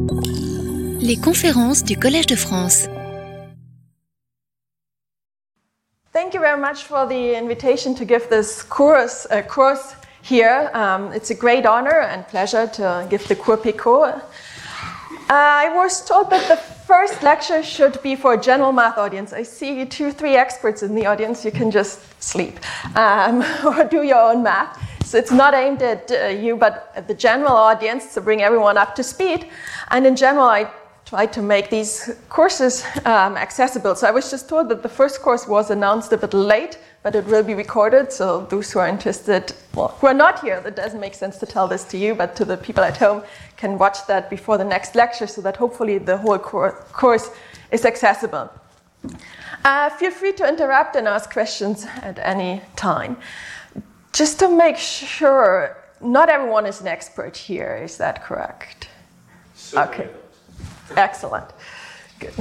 Les conférences du Collège de France. Thank you very much for the invitation to give this course here. It's a great honor and pleasure to give the Cours Picot. I was told that the first lecture should be for a general math audience. I see 2-3 experts in the audience. You can just sleep or do your own math. So it's not aimed at you, but at the general audience to bring everyone up to speed. And in general, I try to make these courses accessible. So I was just told that the first course was announced a bit late, but it will be recorded. So those who are interested, well, who are not here, that doesn't make sense to tell this to you, but to the people at home, can watch that before the next lecture so that hopefully the whole course is accessible. Feel free to interrupt and ask questions at any time. Just to make sure, not everyone is an expert here, is that correct? Okay, excellent, good.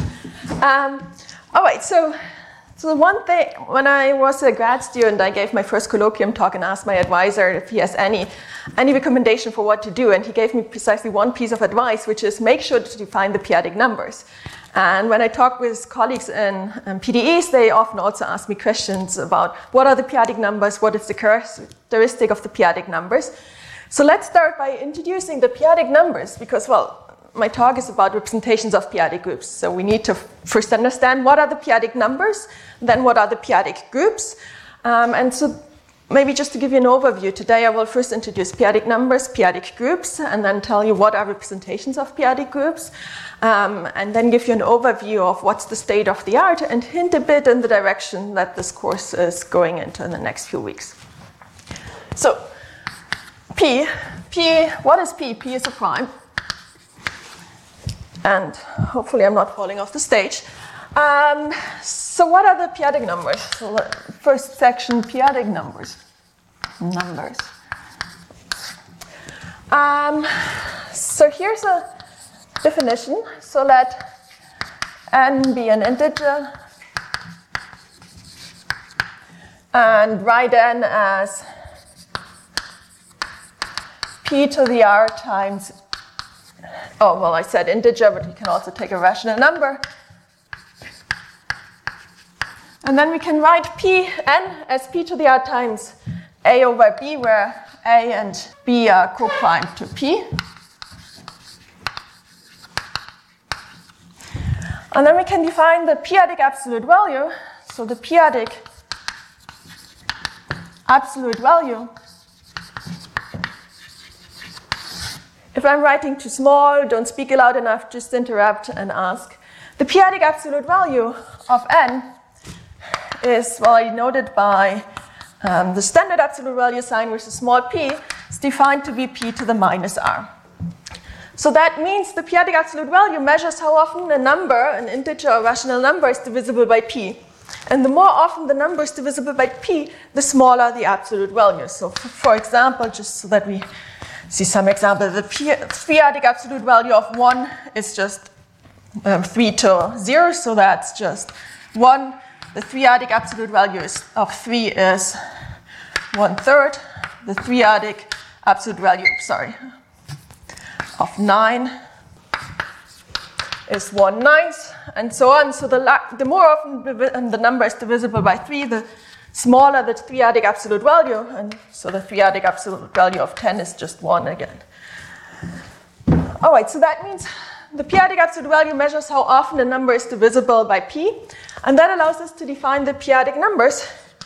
All right, so one thing, when I was a grad student, I gave my first colloquium talk and asked my advisor if he has any recommendation for what to do, and he gave me precisely one piece of advice, which is make sure to define the p-adic numbers. And when I talk with colleagues in PDEs, they often also ask me questions about what are the p-adic numbers, what is the characteristic of the p-adic numbers. So let's start by introducing the p-adic numbers, because, well, my talk is about representations of p-adic groups. So we need to first understand what are the p-adic numbers, then what are the p-adic groups. And so maybe just to give you an overview, today I will first introduce p-adic numbers, p-adic groups, and then tell you what are representations of p-adic groups. And then give you an overview of what's the state of the art and hint a bit in the direction that this course is going into in the next few weeks. So, P, what is P? P is a prime. And hopefully I'm not falling off the stage. So what are the p-adic numbers? So first section, p-adic numbers. So here's a definition. So let n be an integer and write n as p to the r times, oh, well, I said integer, but we can also take a rational number. And then we can write n as p to the r times a over b, where a and b are co-prime to p. And then we can define the p-adic absolute value. So the p-adic absolute value, if I'm writing too small, don't speak loud enough, just interrupt and ask. The p-adic absolute value of n is, well, I noted by the standard absolute value sign, which is small p, is defined to be p to the minus r. So that means the p-adic absolute value measures how often a number, an integer or rational number, is divisible by p. And the more often the number is divisible by p, the smaller the absolute value. So for example, just so that we see some example, the p-adic absolute value of 1 is just 3 to 0, so that's just 1. The p-adic absolute value of 3 is 1/3. The p-adic absolute value, of 9 is 1/9, and so on. So the more often the number is divisible by 3, the smaller the p-adic absolute value, and so the p-adic absolute value of 10 is just 1 again. All right, so that means the p-adic absolute value measures how often a number is divisible by p, and that allows us to define the p-adic numbers.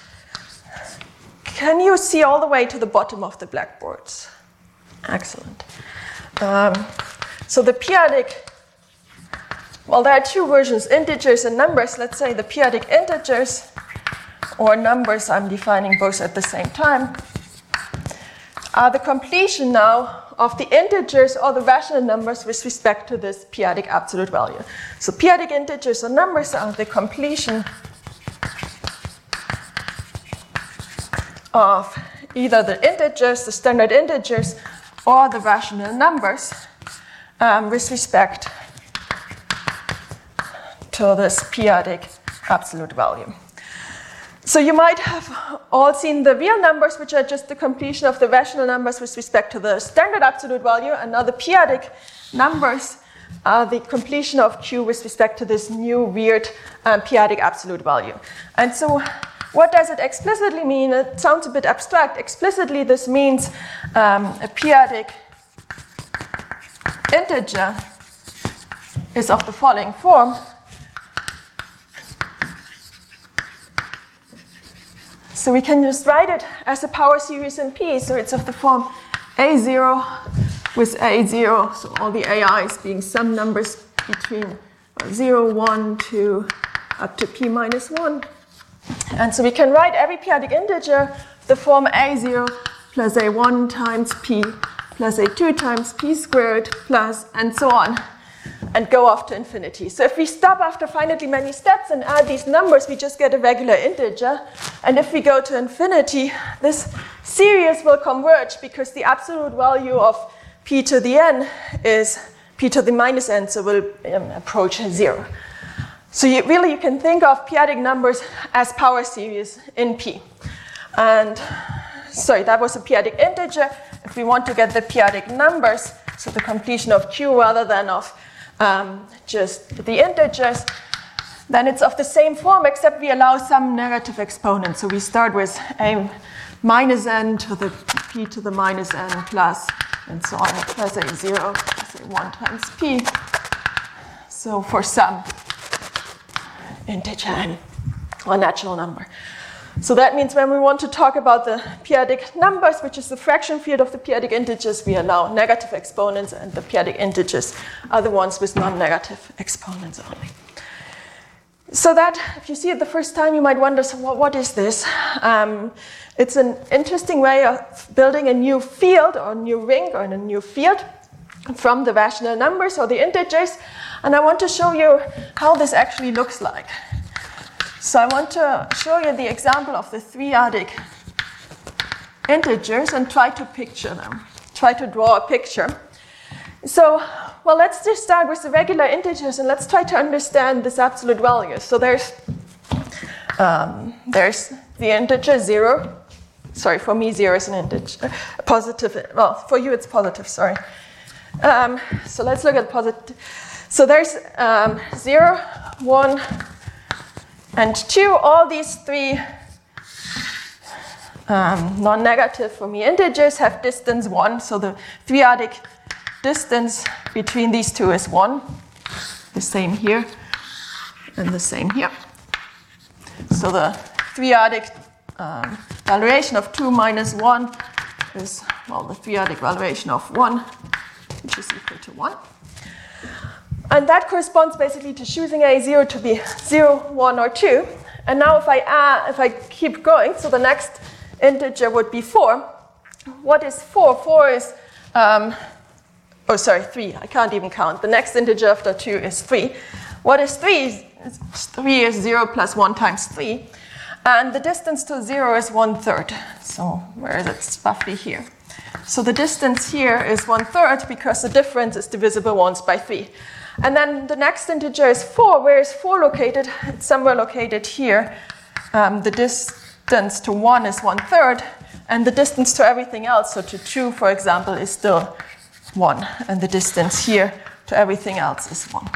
Can you see all the way to the bottom of the blackboards? Excellent. So the p-adic, well, there are two versions, integers and numbers. Let's say the p-adic integers, or numbers, I'm defining both at the same time, are the completion now of the integers or the rational numbers with respect to this p-adic absolute value. So p-adic integers or numbers are the completion of either the integers, the standard integers, or the rational numbers with respect to this p-adic absolute value. So you might have all seen the real numbers, which are just the completion of the rational numbers with respect to the standard absolute value, and now the p-adic numbers are the completion of Q with respect to this new weird p-adic absolute value. And so what does it explicitly mean? It sounds a bit abstract. Explicitly, this means a p-adic integer is of the following form. So we can just write it as a power series in P. So it's of the form A0 with A0, so all the AIs being some numbers between 0, 1, 2, up to P minus 1. And so we can write every p-adic integer the form A0 plus A1 times P plus A2 times P squared plus and so on, and go off to infinity. So if we stop after finitely many steps and add these numbers, we just get a regular integer. And if we go to infinity, this series will converge because the absolute value of p to the n is p to the minus n, so will approach 0. So you can think of p-adic numbers as power series in P. And sorry, that was a p-adic integer. If we want to get the p-adic numbers, so the completion of Q rather than of just the integers, then it's of the same form, except we allow some negative exponents. So we start with a minus n to the p to the minus n plus, and so on, plus A0 plus A1 times P. So for some integer n, or natural number. So that means when we want to talk about the p-adic numbers, which is the fraction field of the p-adic integers, we allow negative exponents, and the p-adic integers are the ones with non-negative exponents only. So that, if you see it the first time, you might wonder, so what is this? It's an interesting way of building a new field, or a new ring, or a new field from the rational numbers, or the integers. And I want to show you how this actually looks like. So I want to show you the example of the three-adic integers and try to picture them, try to draw a picture. So, well, let's just start with the regular integers and let's try to understand this absolute value. So there's the integer 0. Sorry, for me 0 is an integer, positive. Well, for you it's positive, sorry. So let's look at positive. So there's 0, 1, and 2. All these three non-negative for me integers have distance 1. So the three-adic distance between these two is 1. The same here and the same here. So the three-adic valuation of 2 minus 1 is, well, the three-adic valuation of 1, which is equal to 1. And that corresponds basically to choosing A0 to be 0, 1, or 2. And now if I keep going, so the next integer would be 4. What is 4? 4 is, 3. I can't even count. The next integer after 2 is 3. What is 3? 3 is 0 plus 1 times 3. And the distance to 0 is 1/3. So where is it? It's roughly here. So the distance here is 1/3 because the difference is divisible once by 3. And then the next integer is 4. Where is 4 located? It's somewhere located here. The distance to 1 is 1/3. And the distance to everything else, so to 2, for example, is still 1. And the distance here to everything else is 1.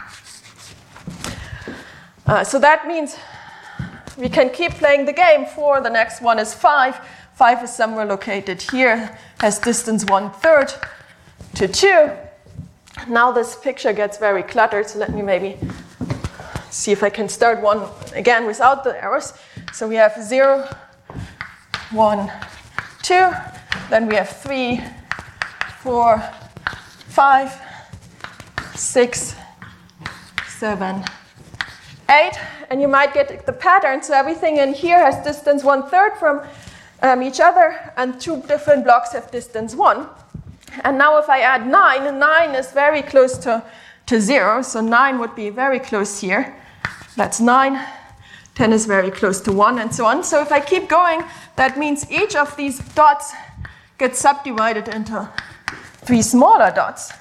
So that means we can keep playing the game. 4, the next one is 5. 5 is somewhere located here, has distance 1/3 to 2. Now this picture gets very cluttered, so let me maybe see if I can start one again without the arrows. So we have 0, 1, 2. Then we have 3, 4, 5, 6, 7, 8. And you might get the pattern. So everything in here has distance 1/3 from each other, and 2 different blocks have distance 1. And now if I add 9, 9 is very close to 0. So 9 would be very close here. That's 9. 10 is very close to 1, and so on. So if I keep going, that means each of these dots gets subdivided into 3 smaller dots.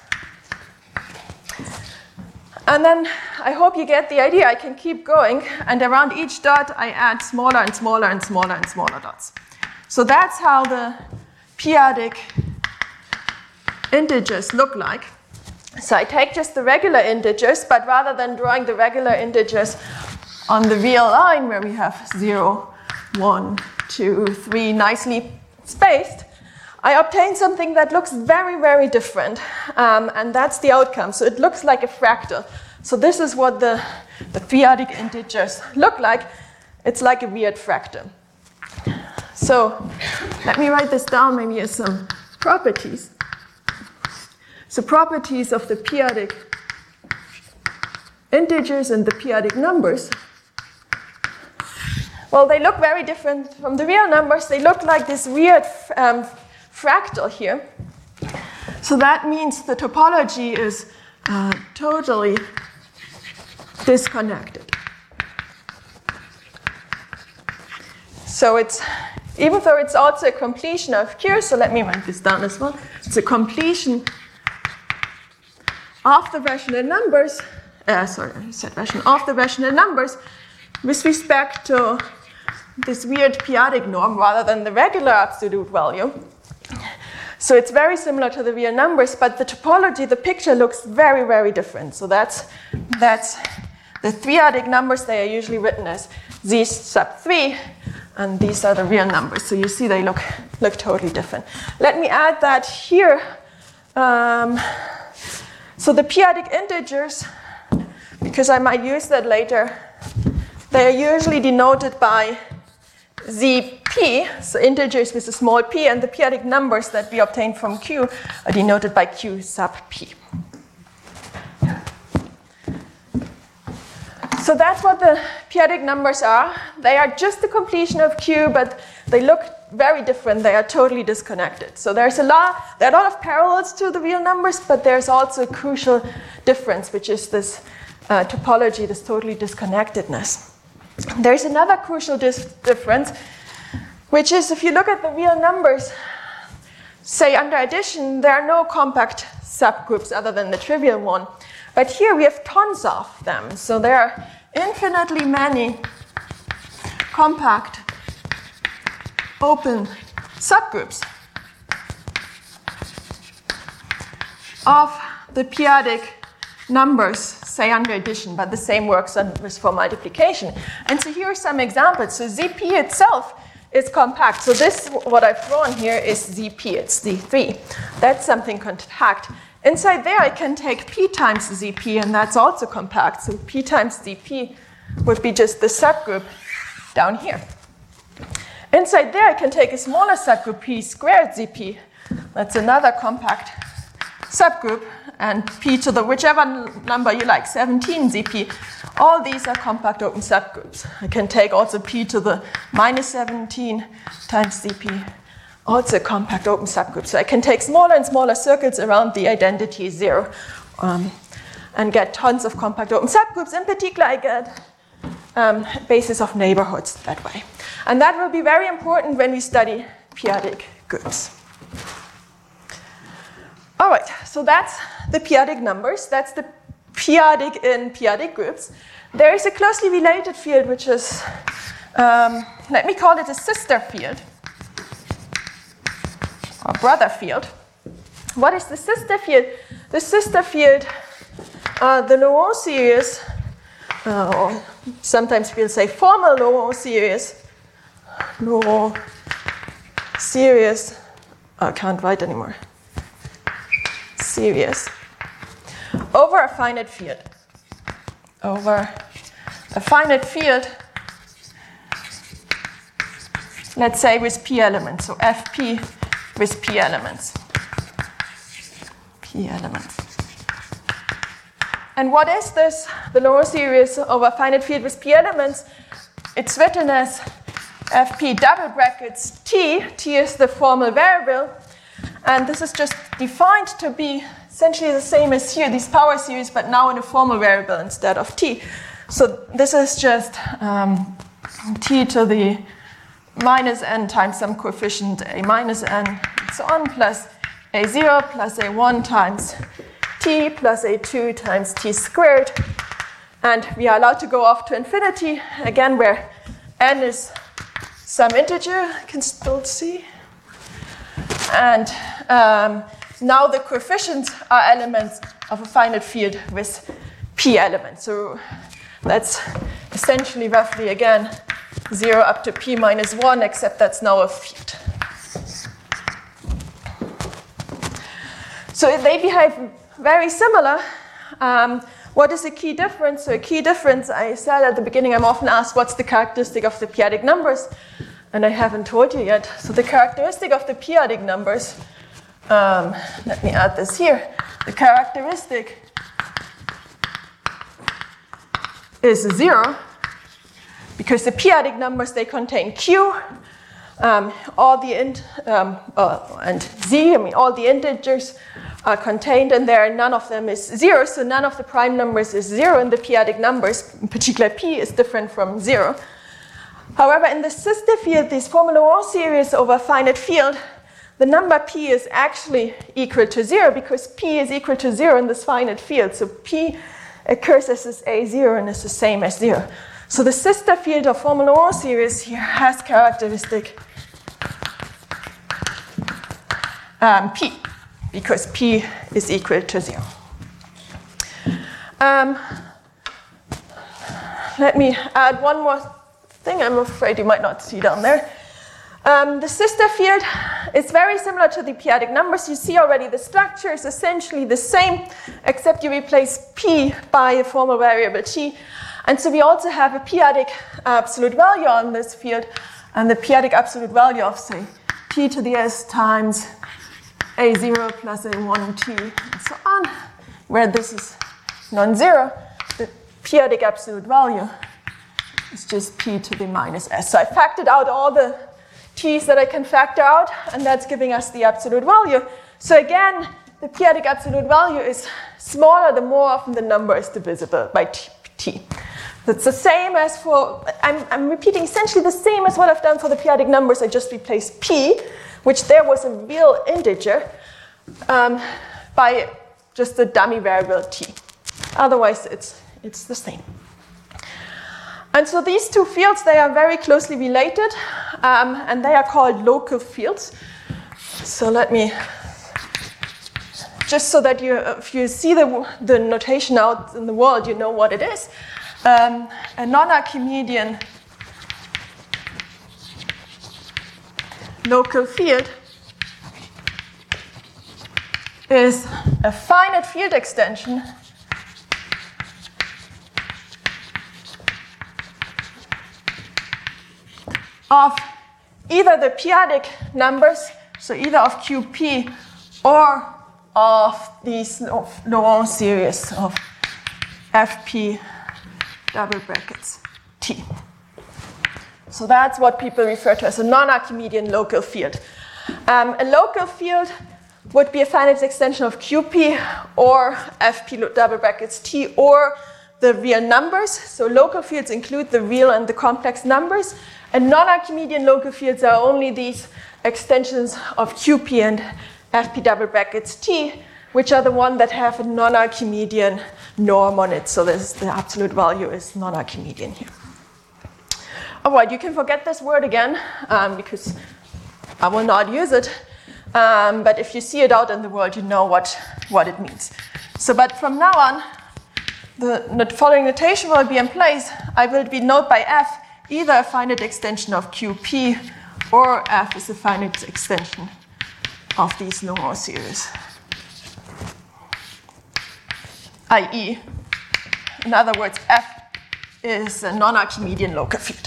And then I hope you get the idea. I can keep going, and around each dot I add smaller and smaller and smaller and smaller dots. So that's how the p-adic integers look like. So I take just the regular integers, but rather than drawing the regular integers on the real line where we have 0, 1, 2, 3 nicely spaced, I obtain something that looks very, very different, and that's the outcome. So it looks like a fractal. So this is what the periodic integers look like. It's like a weird fractal. So let me write this down maybe as some properties. So properties of the periodic integers and the periodic numbers. Well, they look very different from the real numbers. They look like this weird fractal here. So that means the topology is totally disconnected. So it's, even though it's also a completion of Q, so let me write this down as well. It's a completion of the rational numbers, of the rational numbers with respect to this weird periodic norm rather than the regular absolute value. So it's very similar to the real numbers, but the topology, the picture looks very, very different. So that's the periodic numbers. They are usually written as z sub 3, and these are the real numbers. So you see they look totally different. Let me add that here. So the periodic integers, because I might use that later, they are usually denoted by zp, so integers with a small p, and the periodic numbers that we obtain from Q are denoted by Q sub p. So that's what the periodic numbers are. They are just the completion of Q, but they look very different. They are totally disconnected. So there are a lot of parallels to the real numbers, but there's also a crucial difference, which is this topology, this totally disconnectedness. There's another crucial difference, which is if you look at the real numbers, say under addition, there are no compact subgroups other than the trivial one. But here we have tons of them. So there are infinitely many compact open subgroups of the periodic numbers, say under addition, but the same works for multiplication. And so here are some examples. So ZP itself is compact. So this, what I've drawn here, is ZP. It's Z3. That's something compact. Inside there, I can take P times ZP, and that's also compact. So P times ZP would be just the subgroup down here. Inside there, I can take a smaller subgroup, P squared ZP. That's another compact subgroup, and P to the whichever number you like, 17 ZP. All these are compact open subgroups. I can take also P to the minus 17 times ZP. Also a compact open subgroup. So I can take smaller and smaller circles around the identity 0 and get tons of compact open subgroups. In particular, I get basis of neighborhoods that way. And that will be very important when we study periodic groups. All right, so that's the periodic numbers. That's the periodic in periodic groups. There is a closely related field, which is, let me call it a sister field, or brother field. What is the sister field? The sister field, the Laurent series, or sometimes we'll say formal Laurent series. Laurent series, I can't write anymore. Series over a finite field. Over a finite field, let's say with p elements, so Fp with p elements. P elements. And what is this? The Laurent series over a finite field with p elements. It's written as Fp double brackets t. T is the formal variable. And this is just defined to be essentially the same as here, these power series, but now in a formal variable instead of t. So this is just t to the minus n times some coefficient a minus n and so on, plus a0 plus a1 times t plus a2 times t squared. And we are allowed to go off to infinity, again, where n is some integer, you can still see. And now the coefficients are elements of a finite field with p elements. So that's essentially roughly, again, 0 up to p minus 1, except that's now a field. So they behave very similar. What is a key difference? So a key difference, I said at the beginning, I'm often asked what's the characteristic of the p-adic numbers, and I haven't told you yet. So the characteristic of the p-adic numbers, let me add this here. The characteristic is 0, because the p-adic numbers, they contain q, all the and z, I mean all the integers are contained in there, and none of them is 0, so none of the prime numbers is 0 in the p-adic numbers. In particular, p is different from 0. However, in the sister field, this Formel-Laurent series over a finite field, the number p is actually equal to 0, because p is equal to 0 in this finite field. So p occurs as this a0 and is the same as 0. So the sister field of Formel-Laurent series here has characteristic p, because p is equal to 0. Let me add one more thing. I'm afraid you might not see down there. The sister field is very similar to the p-adic numbers. You see already the structure is essentially the same, except you replace p by a formal variable t. And so we also have a p-adic absolute value on this field, and the p-adic absolute value of, say, p to the s times a0 plus a1t, and so on, where this is non-zero. The p-adic absolute value is just p to the minus s. So I factored out all the t's that I can factor out, and that's giving us the absolute value. So again, the p-adic absolute value is smaller the more often the number is divisible by t. That's the same as for, I'm repeating essentially the same as what I've done for the p-adic numbers. I just replaced p, which there was a real integer, by just a dummy variable t. Otherwise, it's the same. And so these two fields, they are very closely related, and they are called local fields. So let me, just so that if you see the notation out in the world, you know what it is. A non-Archimedean local field is a finite field extension of either the p-adic numbers, so either of qp, or of these Laurent series of fp double brackets t. So that's what people refer to as a non-Archimedean local field. A local field would be a finite extension of qp or fp double brackets t or the real numbers. So local fields include the real and the complex numbers. And non-Archimedean local fields are only these extensions of qp and fp double brackets t, which are the ones that have a non-Archimedean norm on it. So the absolute value is non-Archimedean here. All right, you can forget this word again, because I will not use it. But if you see it out in the world, you know what it means. So, but from now on, the following notation will be in place. I will denote by f either a finite extension of qp or f is a finite extension of these Laurent series. i.e., in other words, f is a non-Archimedean local field.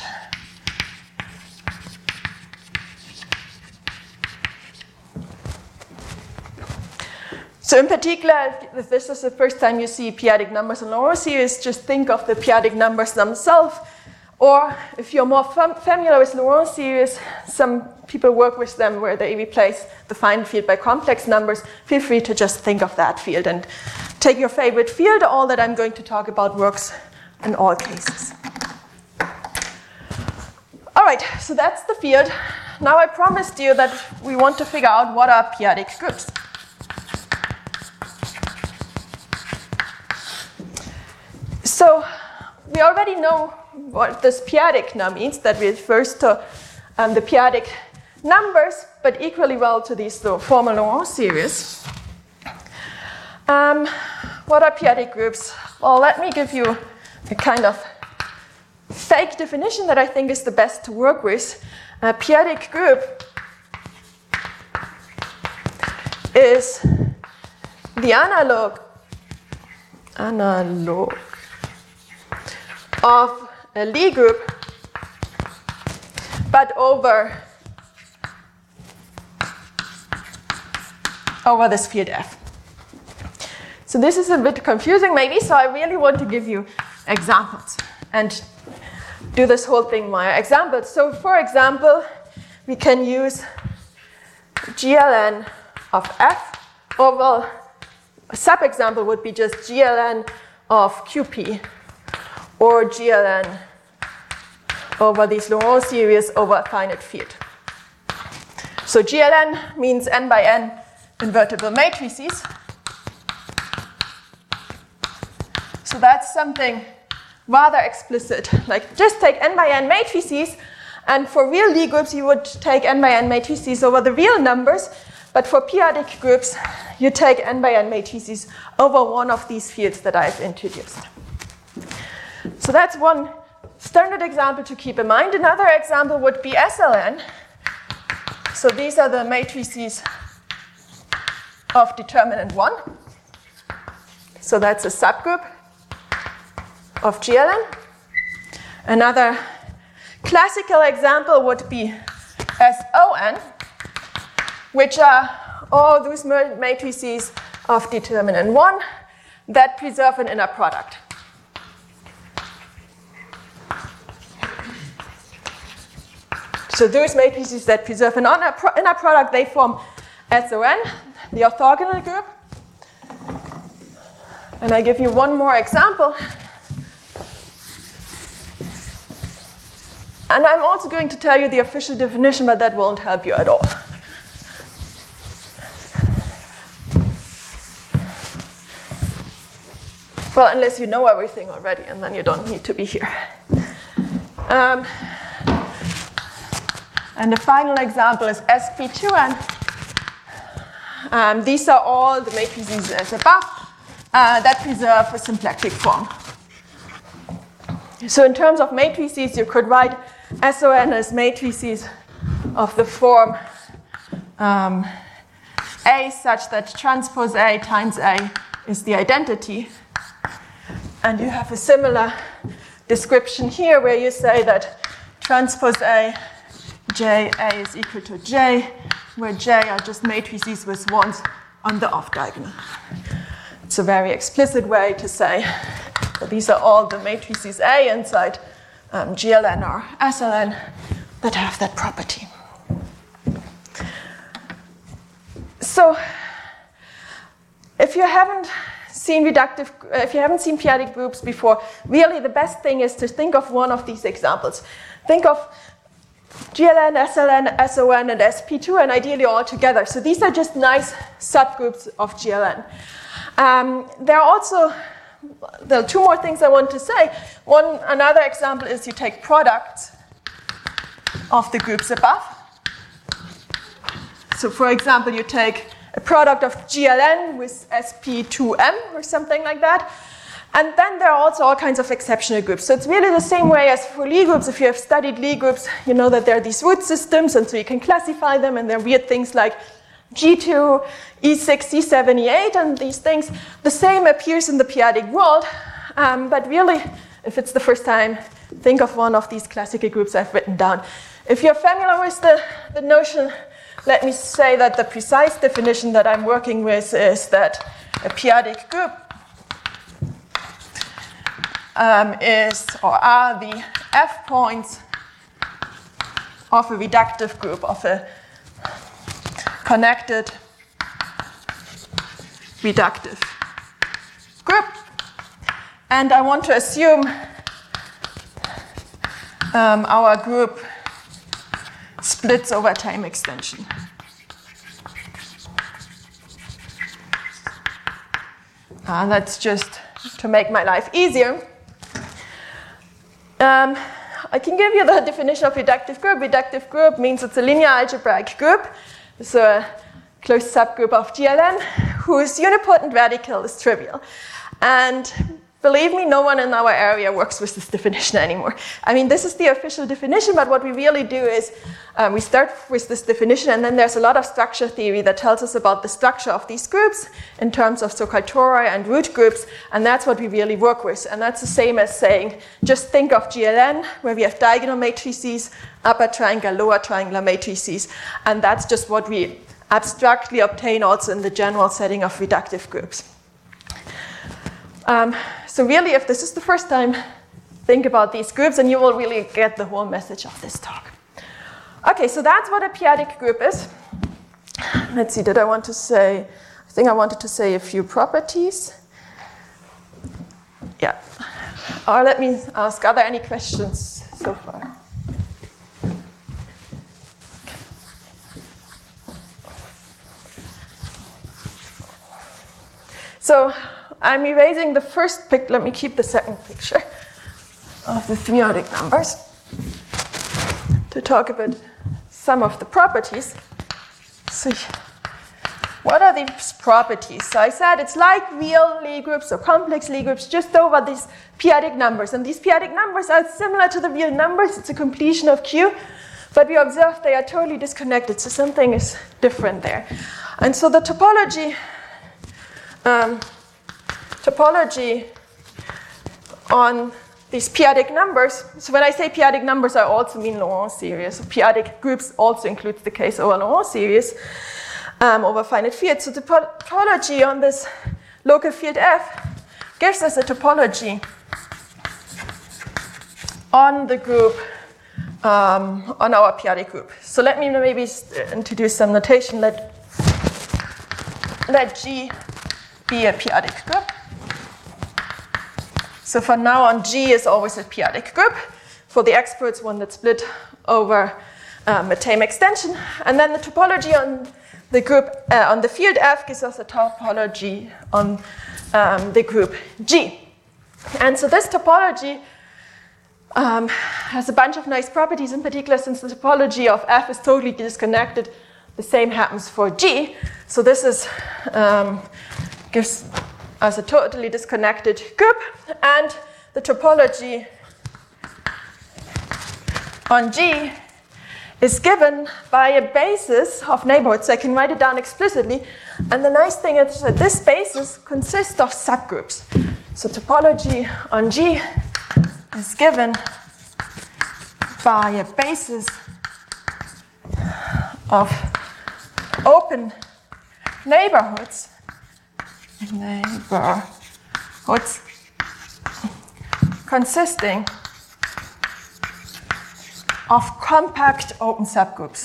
So in particular, if this is the first time you see p-adic numbers in Laurent series, just think of the p-adic numbers themselves. Or if you're more familiar with Laurent series, some people work with them where they replace the finite field by complex numbers. Feel free to just think of that field and take your favorite field. All that I'm going to talk about works in all cases. All right, so that's the field. Now I promised you that we want to figure out what are p-adic groups. So we already know what this p-adic now means. That refers to the p-adic numbers, but equally well to these formal Laurent series. what are p-adic groups? Well, let me give you a kind of fake definition that I think is the best to work with. A p-adic group is the analog of a Lie group, but over this field F. So this is a bit confusing maybe, so I really want to give you examples and do this whole thing via examples. So for example, we can use GLN of F, or well, a sub-example would be just GLN of QP, or GLN over these Laurent series over a finite field. So GLN means n by n invertible matrices. So that's something rather explicit. Like just take n by n matrices, and for real Lie groups you would take n by n matrices over the real numbers, but for p-adic groups you take n by n matrices over one of these fields that I've introduced. So that's one standard example to keep in mind. Another example would be SLN. So these are the matrices of determinant 1. So that's a subgroup of GLN. Another classical example would be SON, which are all those matrices of determinant 1 that preserve an inner product. So those matrices that preserve an inner product, they form SON, the orthogonal group. And I give you one more example. And I'm also going to tell you the official definition, but that won't help you at all. Well, unless you know everything already, and then you don't need to be here. And the final example is SP2N. These are all the matrices as above that preserve a symplectic form. So in terms of matrices, you could write SON as matrices of the form A such that transpose A times A is the identity. And you have a similar description here where you say that transpose A, J, A is equal to J, where J are just matrices with ones on the off diagonal. It's a very explicit way to say that these are all the matrices A inside GLN or SLN that have that property. So if you haven't seen p-adic groups before, really the best thing is to think of one of these examples. Think of GLN, SLN, SON, and SP2, and ideally all together. So these are just nice subgroups of GLN. There are two more things I want to say. Another example is you take products of the groups above. So for example, you take a product of GLN with SP2M or something like that. And then there are also all kinds of exceptional groups. So it's really the same way as for Lie groups. If you have studied Lie groups, you know that there are these root systems, and so you can classify them, and there are weird things like G2, E6, E7, E8, and these things. The same appears in the p-adic world, but really, if it's the first time, think of one of these classical groups I've written down. If you're familiar with the notion, let me say that the precise definition that I'm working with is that a p-adic group are the F points of a reductive group, of a connected reductive group. And I want to assume our group splits over time extension. That's just to make my life easier. I can give you the definition of reductive group. Reductive group means it's a linear algebraic group. So closed subgroup of GLN whose unipotent radical is trivial. And believe me, no one in our area works with this definition anymore. I mean, this is the official definition, but what we really do is we start with this definition, and then there's a lot of structure theory that tells us about the structure of these groups in terms of so-called tori and root groups, and that's what we really work with. And that's the same as saying, just think of GLN, where we have diagonal matrices, upper triangular, lower triangular matrices, and that's just what we abstractly obtain also in the general setting of reductive groups. So really, if this is the first time, think about these groups and you will really get the whole message of this talk. Okay, so that's what a p-adic group is. Let's see, did I want to say, I think I wanted to say a few properties. Yeah. Or let me ask, are there any questions so far? So I'm erasing the first picture. Let me keep the second picture of the three-adic numbers to talk about some of the properties. So what are these properties? So I said it's like real Lie groups or complex Lie groups just over these p-adic numbers. And these p-adic numbers are similar to the real numbers. It's a completion of Q. But we observe they are totally disconnected. So something is different there. And so the topology on these p-adic numbers. So when I say p-adic numbers, I also mean Laurent series. So p-adic groups also includes the case over Laurent series over finite fields. So the topology on this local field F gives us a topology on the group, on our p-adic group. So let me maybe introduce some notation. Let G be a p-adic group. So for now on, G is always a p-adic group. For the experts, one that's split over a tame extension. And then the topology on the group, on the field F gives us a topology on the group G. And so this topology has a bunch of nice properties, in particular since the topology of F is totally disconnected. The same happens for G. So this is gives us a totally disconnected group, and the topology on G is given by a basis of neighborhoods. So I can write it down explicitly, and the nice thing is that this basis consists of subgroups. So topology on G is given by a basis of open neighborhoods consisting of compact open subgroups.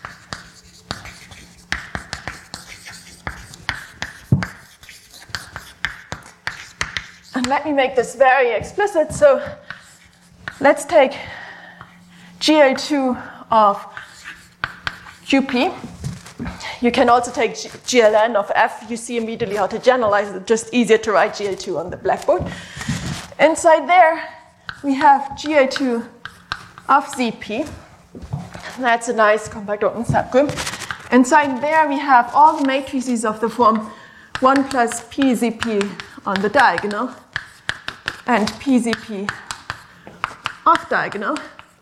And let me make this very explicit. So let's take GL2 of QP. You can also take GLN of F. You see immediately how to generalize it. Just easier to write GL2 on the blackboard. Inside there, we have GL2 of ZP. That's a nice compact open subgroup. Inside there, we have all the matrices of the form 1 plus PZP on the diagonal and PZP off diagonal.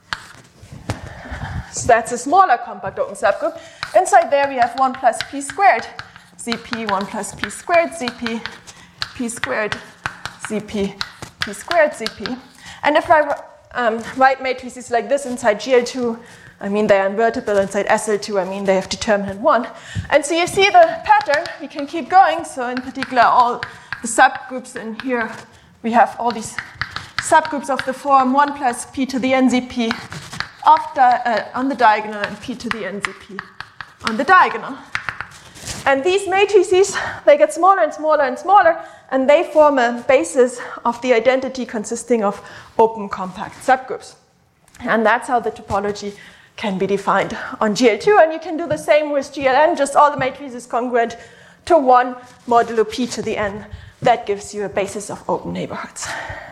So that's a smaller compact open subgroup. Inside there, we have 1 plus P squared ZP, 1 plus P squared ZP, P squared ZP, P squared ZP. And if I write matrices like this inside GL2, I mean they are invertible. Inside SL2, I mean they have determinant 1. And so you see the pattern. We can keep going. So in particular, all the subgroups in here, we have all these subgroups of the form 1 plus P to the n ZP on the diagonal and P to the n ZP on the diagonal. And these matrices, they get smaller and smaller and smaller, and they form a basis of the identity consisting of open compact subgroups. And that's how the topology can be defined on GL2. And you can do the same with GLN, just all the matrices congruent to 1 modulo P to the n. That gives you a basis of open neighborhoods.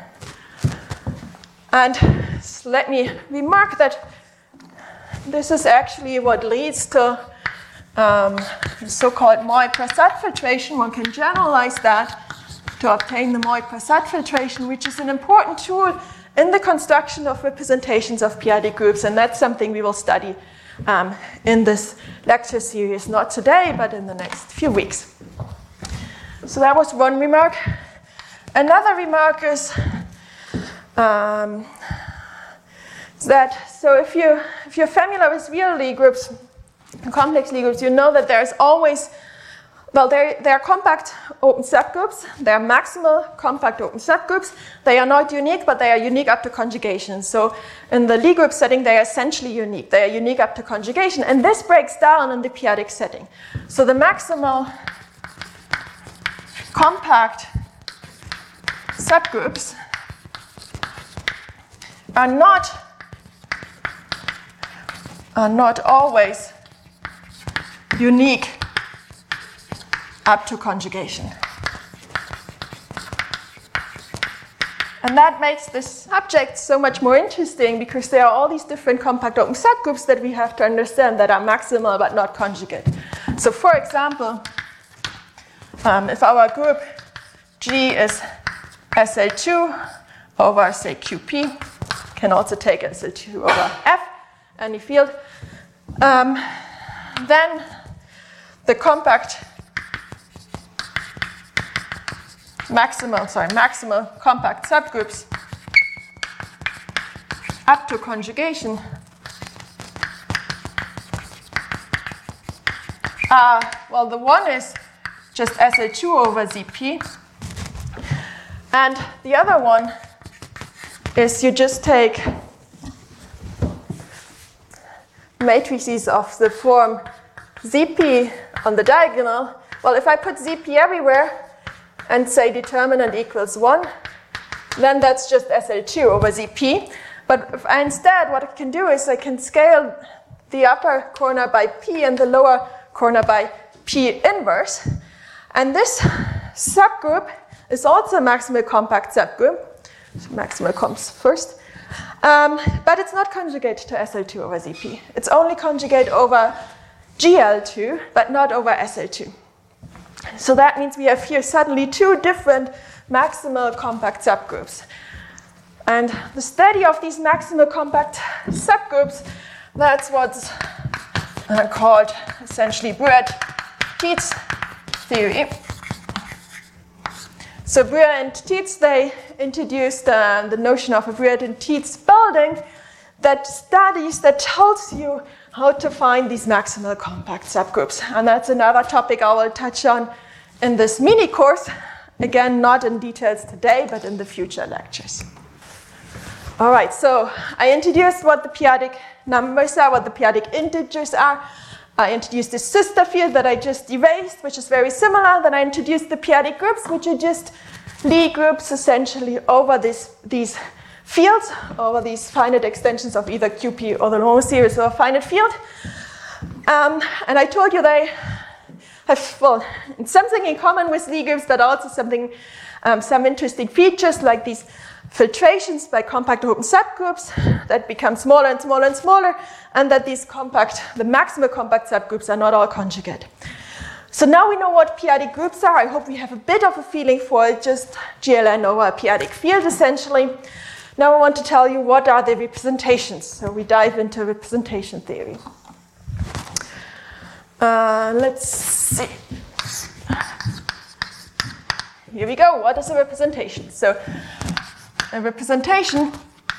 And let me remark that this is actually what leads to the so-called Moy-Prasad filtration. One can generalize that to obtain the Moy-Prasad filtration, which is an important tool in the construction of representations of p-adic groups, and that's something we will study in this lecture series, not today, but in the next few weeks. So that was one remark. Another remark is that, so if you're familiar with real Lie groups, complex Lie groups, you know that there's always, well, they are compact open subgroups. They are maximal compact open subgroups. They are not unique, but they are unique up to conjugation. So in the Lie group setting, they are essentially unique. They are unique up to conjugation. And this breaks down in the p-adic setting. So the maximal compact subgroups are not always unique up to conjugation. And that makes this subject so much more interesting because there are all these different compact open subgroups that we have to understand that are maximal but not conjugate. So for example, if our group G is SL2 over, say, QP, can also take SL2 over F, any field, then the compact maximal compact subgroups up to conjugation well, the one is just SL2 over ZP, and the other one is you just take matrices of the form ZP on the diagonal. Well, if I put ZP everywhere and say determinant equals 1, then that's just SL2 over ZP. But if I instead, what I can do is I can scale the upper corner by P and the lower corner by P inverse. And this subgroup is also a maximal compact subgroup. So maximal comes first. But it's not conjugate to SL2 over ZP. It's only conjugate over GL2, but not over SL2. So that means we have here suddenly two different maximal compact subgroups. And the study of these maximal compact subgroups, that's what's called essentially Breuer-Tietz theory. So Breuer and Tietz, they introduced the notion of a Breuer and Tietz building that studies, that tells you how to find these maximal compact subgroups. And that's another topic I will touch on in this mini course. Again, not in details today, but in the future lectures. All right, so I introduced what the p-adic numbers are, what the p-adic integers are. I introduced the sister field that I just erased, which is very similar. Then I introduced the p-adic groups, which are just Lie groups essentially over these fields, over these finite extensions of either QP or the normal series or a finite field. And I told you they have, well, something in common with Lie groups, but also something, some interesting features like these filtrations by compact open subgroups that become smaller and smaller and smaller, and that these the maximal compact subgroups are not all conjugate. So now we know what p-adic groups are. I hope we have a bit of a feeling for it, just GLN over a p-adic field essentially. Now I want to tell you what are the representations. So we dive into representation theory. Let's see. Here we go. What is a representation? So a representation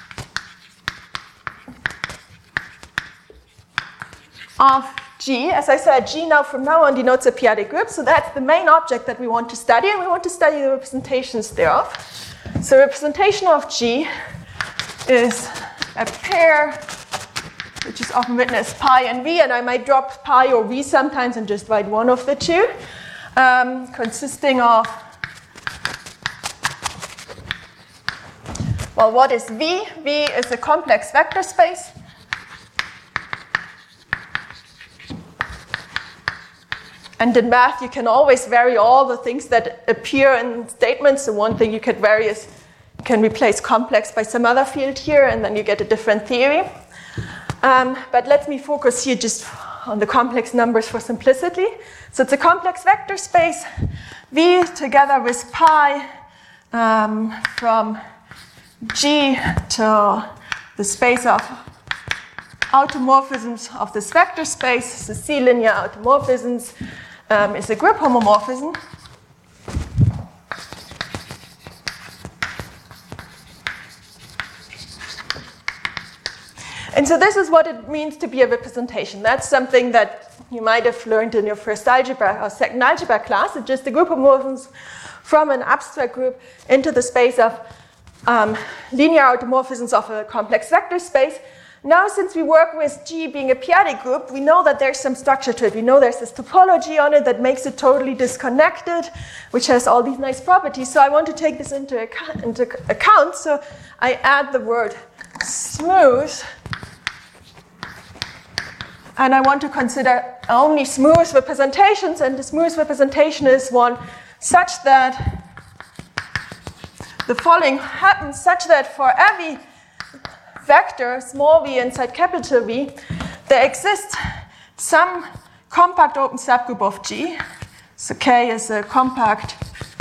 of G, as I said, G now from now on denotes a p-adic group. So that's the main object that we want to study, and we want to study the representations thereof. So representation of G is a pair, which is often written as pi and v, and I might drop pi or v sometimes and just write one of the two, consisting of, well, what is V? V is a complex vector space. And in math, you can always vary all the things that appear in statements. So one thing you could vary is you can replace complex by some other field here, and then you get a different theory. But let me focus here just on the complex numbers for simplicity. So it's a complex vector space, V together with pi from G to the space of automorphisms of this vector space. The C-linear automorphisms is a grip homomorphism. And so this is what it means to be a representation. That's something that you might have learned in your first algebra or second algebra class. It's just the group homomorphisms from an abstract group into the space of linear automorphisms of a complex vector space. Now, since we work with G being a p-adic group, we know that there's some structure to it. We know there's this topology on it that makes it totally disconnected, which has all these nice properties. So I want to take this into account. So I add the word smooth. And I want to consider only smooth representations. And the smooth representation is one such that the following happens such that for every vector, small v inside capital V, there exists some compact open subgroup of G. So K is a compact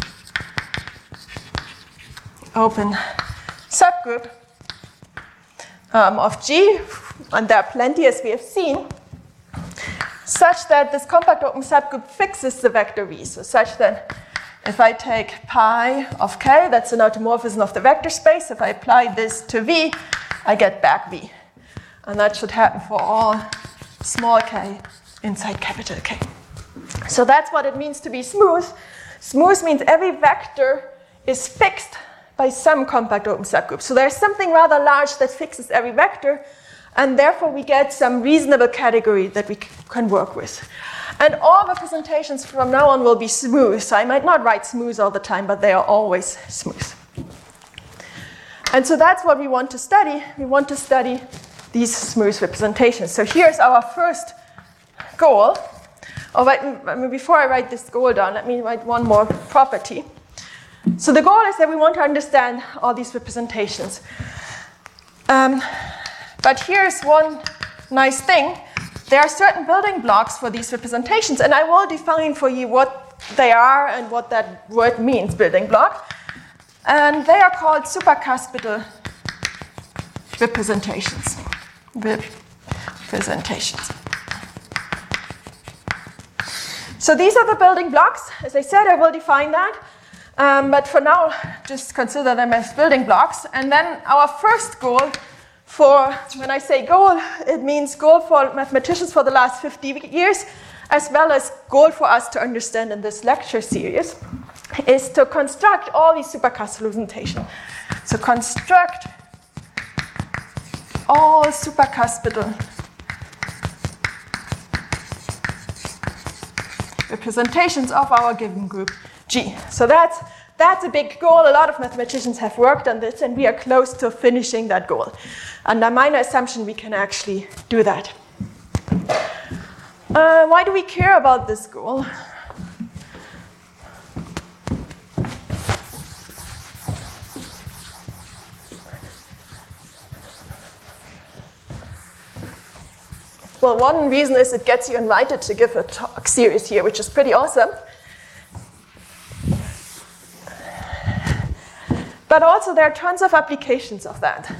open subgroup of G, and there are plenty as we have seen, such that this compact open subgroup fixes the vector V. So such that if I take pi of K, that's an automorphism of the vector space. If I apply this to V, I get back V. And that should happen for all small k inside capital K. So that's what it means to be smooth. Smooth means every vector is fixed by some compact open subgroup. So there's something rather large that fixes every vector, and therefore we get some reasonable category that we can work with. And all representations from now on will be smooth. So I might not write smooth all the time, but they are always smooth. And so that's what we want to study. We want to study these smooth representations. So here's our first goal. Before I write this goal down, let me write one more property. So the goal is that we want to understand all these representations. But here's one nice thing. There are certain building blocks for these representations, and I will define for you what they are and what that word means, building block. And they are called supracuspidal representations. So these are the building blocks. As I said, I will define that. But for now, just consider them as building blocks. And then our first goal for, when I say goal, it means goal for mathematicians for the last 50 years, as well as goal for us to understand in this lecture series, is to construct all these supracuspidal representations. So construct all supracuspidal representations of our given group G. So that's a big goal. A lot of mathematicians have worked on this, and we are close to finishing that goal. Under minor assumption, we can actually do that. Why do we care about this goal? Well, one reason is it gets you invited to give a talk series here, which is pretty awesome. But also there are tons of applications of that.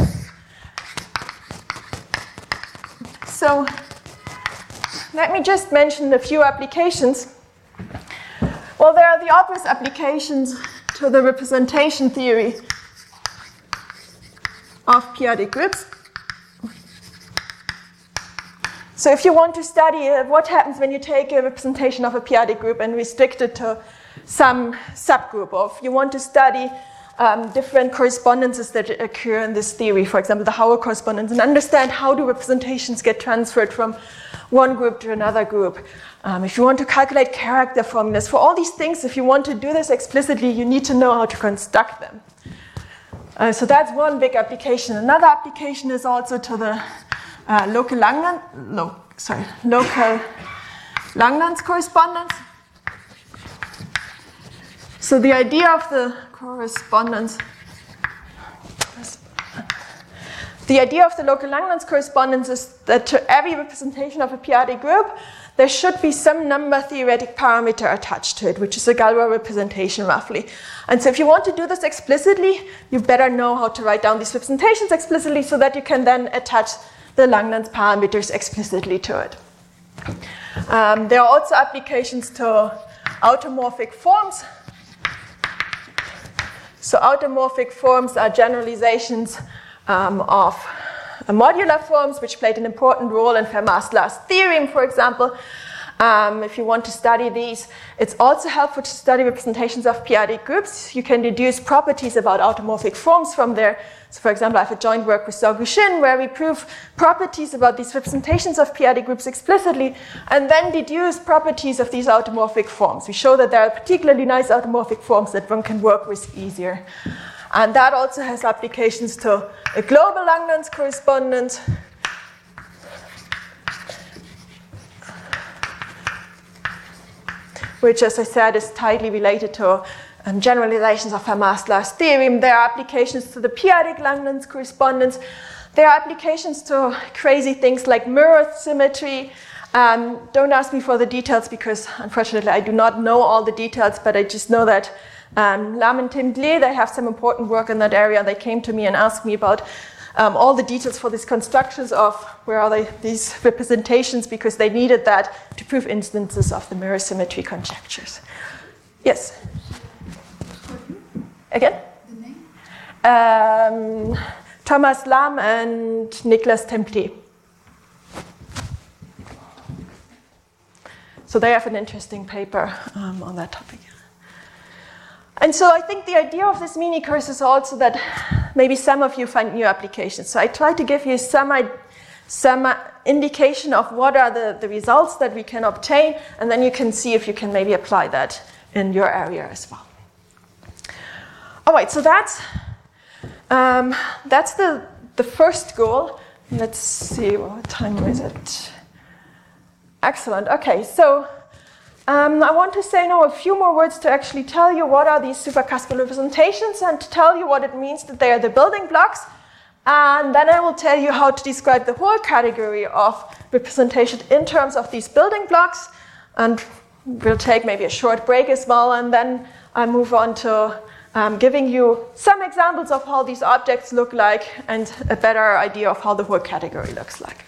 So let me just mention a few applications. Well, there are the obvious applications to the representation theory of p-adic groups. So if you want to study what happens when you take a representation of a p-adic group and restrict it to some subgroup, or if you want to study different correspondences that occur in this theory, for example, the Howell correspondence, and understand how do representations get transferred from one group to another group. If you want to calculate character formulas, for all these things, if you want to do this explicitly, you need to know how to construct them. So that's one big application. Another application is also to the local Langlands correspondence. So the idea of the correspondence The idea of the local Langlands correspondence is that to every representation of a p-adic group, there should be some number theoretic parameter attached to it, which is a Galois representation roughly. And so if you want to do this explicitly, you better know how to write down these representations explicitly so that you can then attach the Langlands parameters explicitly to it. There are also applications to automorphic forms. So automorphic forms are generalizations of modular forms, which played an important role in Fermat's last theorem, for example. If you want to study these, it's also helpful to study representations of p-adic groups. You can deduce properties about automorphic forms from there. So for example, I have a joint work with Zhao Guxin where we prove properties about these representations of p-adic groups explicitly and then deduce properties of these automorphic forms. We show that there are particularly nice automorphic forms that one can work with easier. And that also has applications to a global Langlands correspondence. Which, as I said, is tightly related to generalizations of Fermat's last theorem. There are applications to the p-adic Langlands correspondence. There are applications to crazy things like mirror symmetry. Don't ask me for the details because, unfortunately, I do not know all the details, but I just know that Lam and Tim Gle, they have some important work in that area. They came to me and asked me about all the details for these constructions of where are they, these representations, because they needed that to prove instances of the mirror symmetry conjectures. Yes? Again? The name? Thomas Lam and Niklas Temple. So they have an interesting paper on that topic. And so I think the idea of this mini course is also that maybe some of you find new applications. So I try to give you some indication of what are the results that we can obtain, and then you can see if you can maybe apply that in your area as well. All right, so that's the first goal. Let's see, what time is it? Excellent. Okay, so I want to say now a few more words to actually tell you what are these supercuspal representations and to tell you what it means that they are the building blocks. And then I will tell you how to describe the whole category of representation in terms of these building blocks. And we'll take maybe a short break as well. And then I move on to giving you some examples of how these objects look like and a better idea of how the whole category looks like.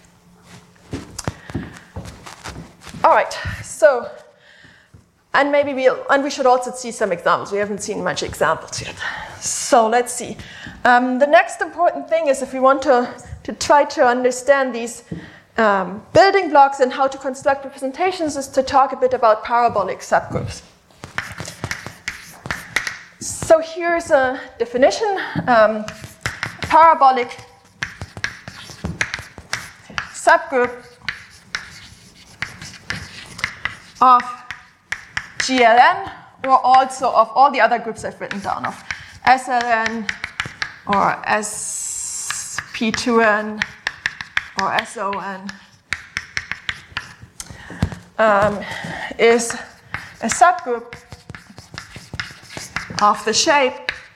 All right, so, and maybe we should also see some examples. We haven't seen much examples yet. So let's see. The next important thing is if we want to try to understand these building blocks and how to construct representations is to talk a bit about parabolic subgroups. So here's a definition. Parabolic subgroup of GLN, or also of all the other groups I've written down, of SLN, or SP2N, or SON, is a subgroup of the shape.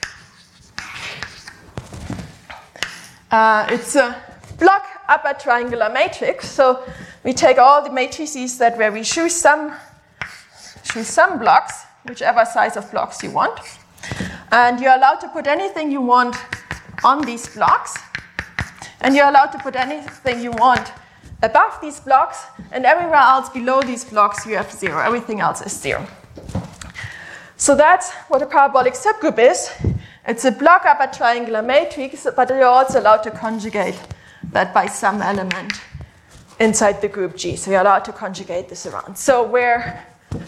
It's a block upper triangular matrix. So we take all the matrices where we choose some blocks, whichever size of blocks you want. And you're allowed to put anything you want on these blocks. And you're allowed to put anything you want above these blocks. And everywhere else below these blocks, you have 0. Everything else is 0. So that's what a parabolic subgroup is. It's a block upper triangular matrix, but you're also allowed to conjugate that by some element inside the group G. So you're allowed to conjugate this around. So where,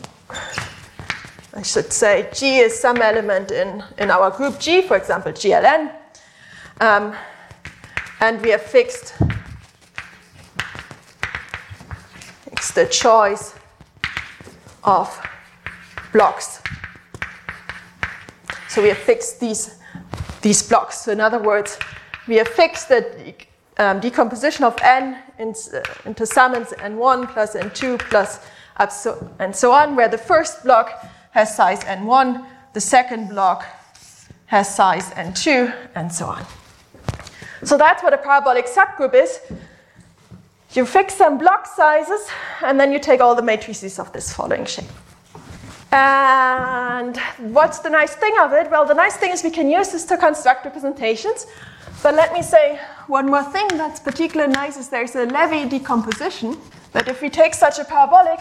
I should say, G is some element in our group G, for example, GLN, and we have fixed the choice of blocks. So we have fixed these blocks. So in other words, we have fixed the decomposition of n into summons n1 plus n2 plus and so on, where the first block has size n1, the second block has size n2, and so on. So that's what a parabolic subgroup is. You fix some block sizes, and then you take all the matrices of this following shape. And what's the nice thing of it? Well, the nice thing is we can use this to construct representations. But let me say one more thing that's particularly nice is there's a Levy decomposition. That if we take such a parabolic,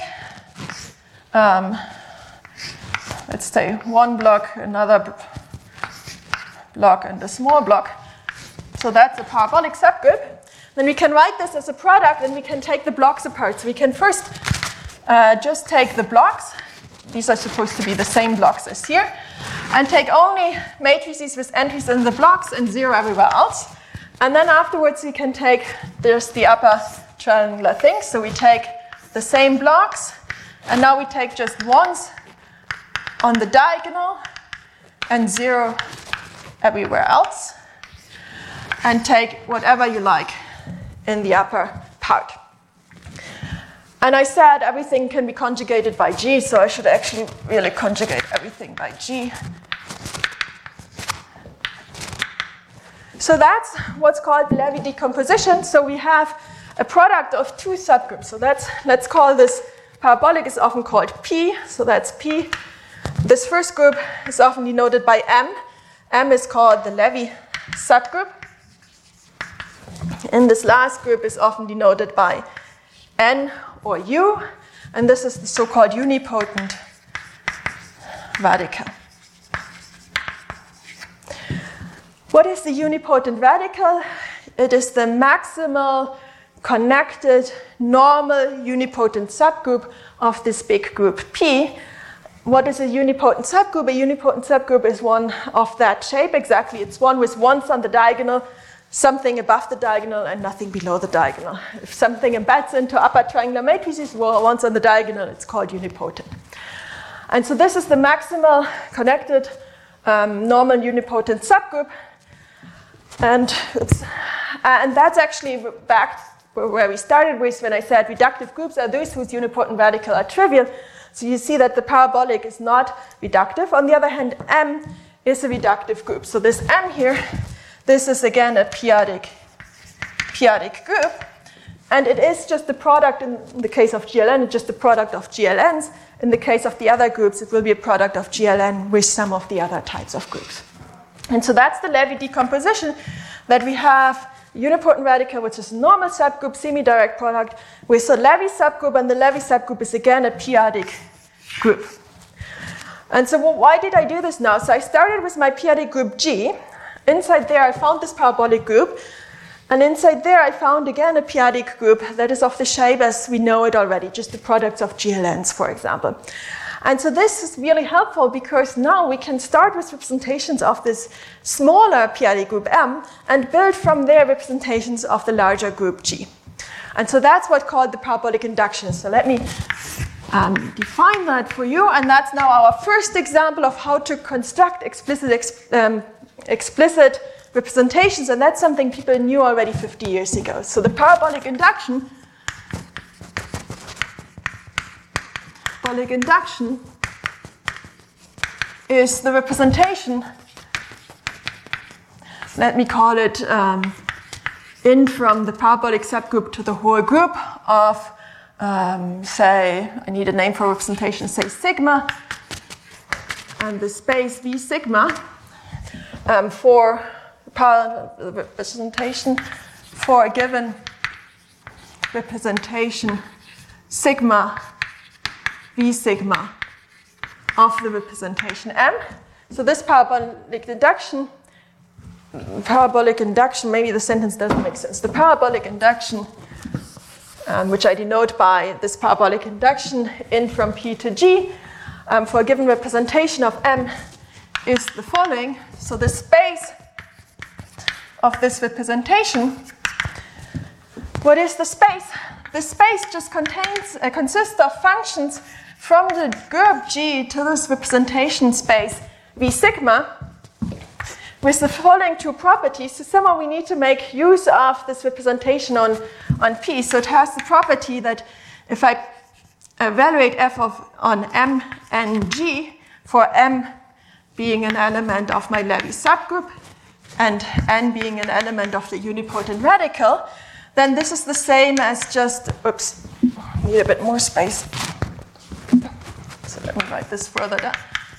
let's say one block, another block, and a small block. So that's a parabolic subgroup. Then we can write this as a product, and we can take the blocks apart. So we can first just take the blocks. These are supposed to be the same blocks as here. And take only matrices with entries in the blocks and 0 everywhere else. And then afterwards we can take just the upper triangular thing. So we take the same blocks, and now we take just ones on the diagonal and 0 everywhere else. And take whatever you like in the upper part. And I said everything can be conjugated by G, so I should actually really conjugate everything by G. So that's what's called Levy decomposition. So we have a product of two subgroups. So let's call this parabolic is often called P, so that's P. This first group is often denoted by M. M is called the Levy subgroup. And this last group is often denoted by N or U, and this is the so-called unipotent radical. What is the unipotent radical? It is the maximal connected normal unipotent subgroup of this big group P. What is a unipotent subgroup? A unipotent subgroup is one of that shape exactly. It's one with ones on the diagonal, something above the diagonal, and nothing below the diagonal. If something embeds into upper triangular matrices, well, once on the diagonal, it's called unipotent. And so this is the maximal connected normal unipotent subgroup. And that's actually back where we started with when I said reductive groups are those whose unipotent radical are trivial. So you see that the parabolic is not reductive. On the other hand, M is a reductive group. So this M here, this is again a p-adic group, and it is just the product in the case of GLN, it's just the product of GLNs. In the case of the other groups, it will be a product of GLN with some of the other types of groups. And so that's the Levy decomposition, that we have unipotent radical, which is a normal subgroup, semi-direct product, with a Levy subgroup, and the Levy subgroup is again a p-adic group. And so why did I do this now? So I started with my p-adic group G. Inside there, I found this parabolic group. And inside there, I found again a p-adic group that is of the shape as we know it already, just the products of GLNs, for example. And so this is really helpful because now we can start with representations of this smaller p-adic group M and build from there representations of the larger group G. And so that's what's called the parabolic induction. So let me define that for you. And that's now our first example of how to construct explicit representations, and that's something people knew already 50 years ago. So the parabolic induction is the representation, let me call it in from the parabolic subgroup to the whole group of, say, I need a name for representation, say sigma, and the space V sigma, for representation for a given representation sigma V sigma of the representation M. So this parabolic induction, maybe the sentence doesn't make sense. The parabolic induction, which I denote by this parabolic induction in from P to G, for a given representation of M is the following. So the space of this representation, what is the space? The space just consists of functions from the group G to this representation space V sigma with the following two properties. So somehow we need to make use of this representation on P. So it has the property that if I evaluate f on M and G, for M being an element of my Levy subgroup, and n being an element of the unipotent radical, then this is the same as just, oops, need a bit more space. So let me write this further down.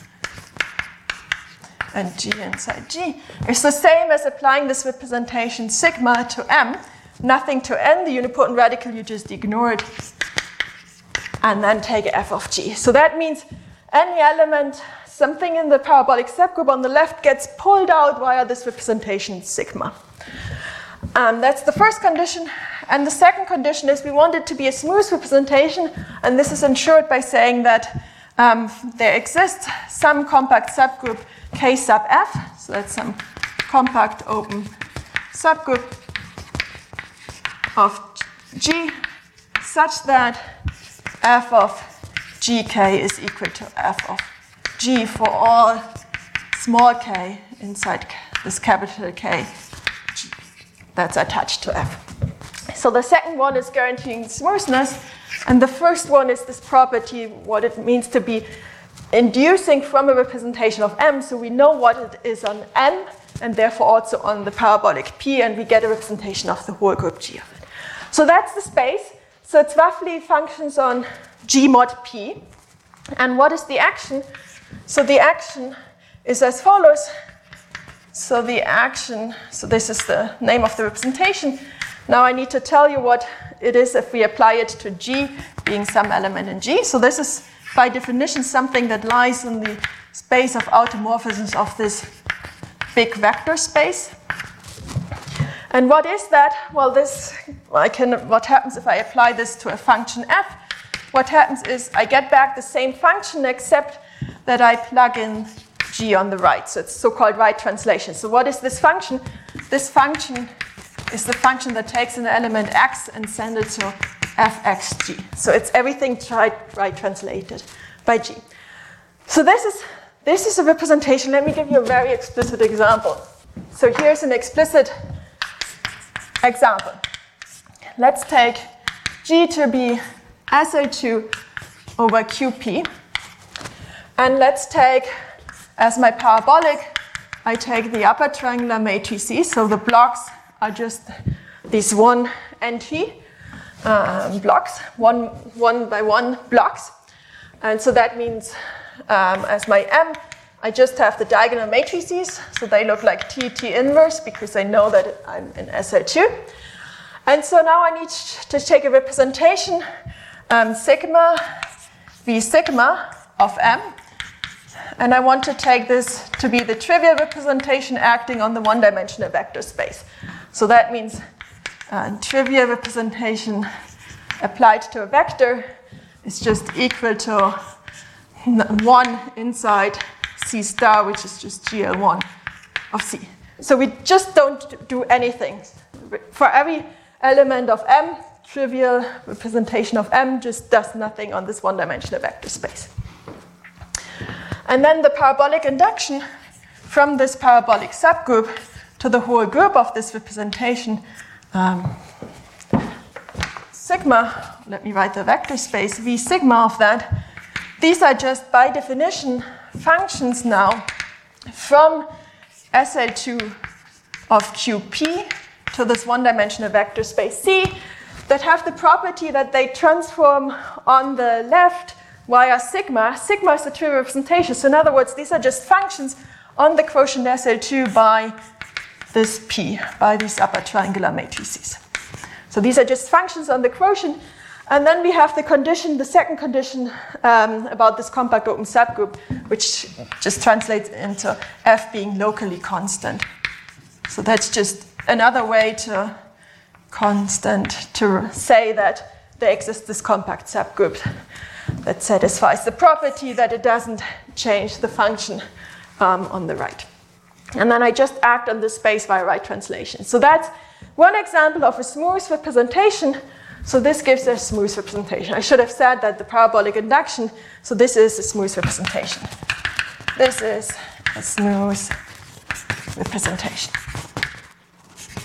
And G inside G is the same as applying this representation sigma to M, nothing to n, the unipotent radical, you just ignore it, and then take f of G. So that means any element, something in the parabolic subgroup on the left gets pulled out via this representation sigma. That's the first condition. And the second condition is we want it to be a smooth representation, and this is ensured by saying that there exists some compact subgroup K sub F, so that's some compact open subgroup of G such that f of gk is equal to f of g for all small k inside this capital K G that's attached to f. So the second one is guaranteeing smoothness, and the first one is this property, what it means to be inducing from a representation of M, so we know what it is on N, and therefore also on the parabolic P, and we get a representation of the whole group G of it. So that's the space. So it's roughly functions on G mod P. And what is the action? So the action is as follows. So the action, so this is the name of the representation. Now I need to tell you what it is if we apply it to G being some element in G. So this is by definition something that lies in the space of automorphisms of this big vector space. And what is that? Well, what happens if I apply this to a function f? What happens is I get back the same function except that I plug in G on the right. So it's so-called right translation. So what is this function? This function is the function that takes an element x and sends it to fxg. So it's everything right translated by G. So this is a representation. Let me give you a very explicit example. So here's an explicit example. Let's take G to be SL2 over QP. And let's take, as my parabolic, I take the upper triangular matrices. So the blocks are just these one entry blocks, one by one blocks. And so that means as my M, I just have the diagonal matrices. So they look like T inverse because I know that I'm in SL2. And so now I need to take a representation sigma V sigma of M. And I want to take this to be the trivial representation acting on the one-dimensional vector space. So that means trivial representation applied to a vector is just equal to 1 inside C star, which is just GL1 of C. So we just don't do anything. For every element of M, trivial representation of M just does nothing on this one-dimensional vector space. And then the parabolic induction from this parabolic subgroup to the whole group of this representation sigma, let me write the vector space, V sigma of that. These are just by definition functions now from SL2 of QP to this one-dimensional vector space C that have the property that they transform on the left via sigma. Sigma is the trivial representation. So in other words, these are just functions on the quotient SL2 by this P, by these upper triangular matrices. So these are just functions on the quotient. And then we have the condition, the second condition about this compact open subgroup, which just translates into F being locally constant. So that's just another way to say that there exists this compact subgroup that satisfies the property that it doesn't change the function on the right. And then I just act on this space via right translation. So that's one example of a smooth representation. So this gives a smooth representation. I should have said that the parabolic induction, so this is a smooth representation. This is a smooth representation.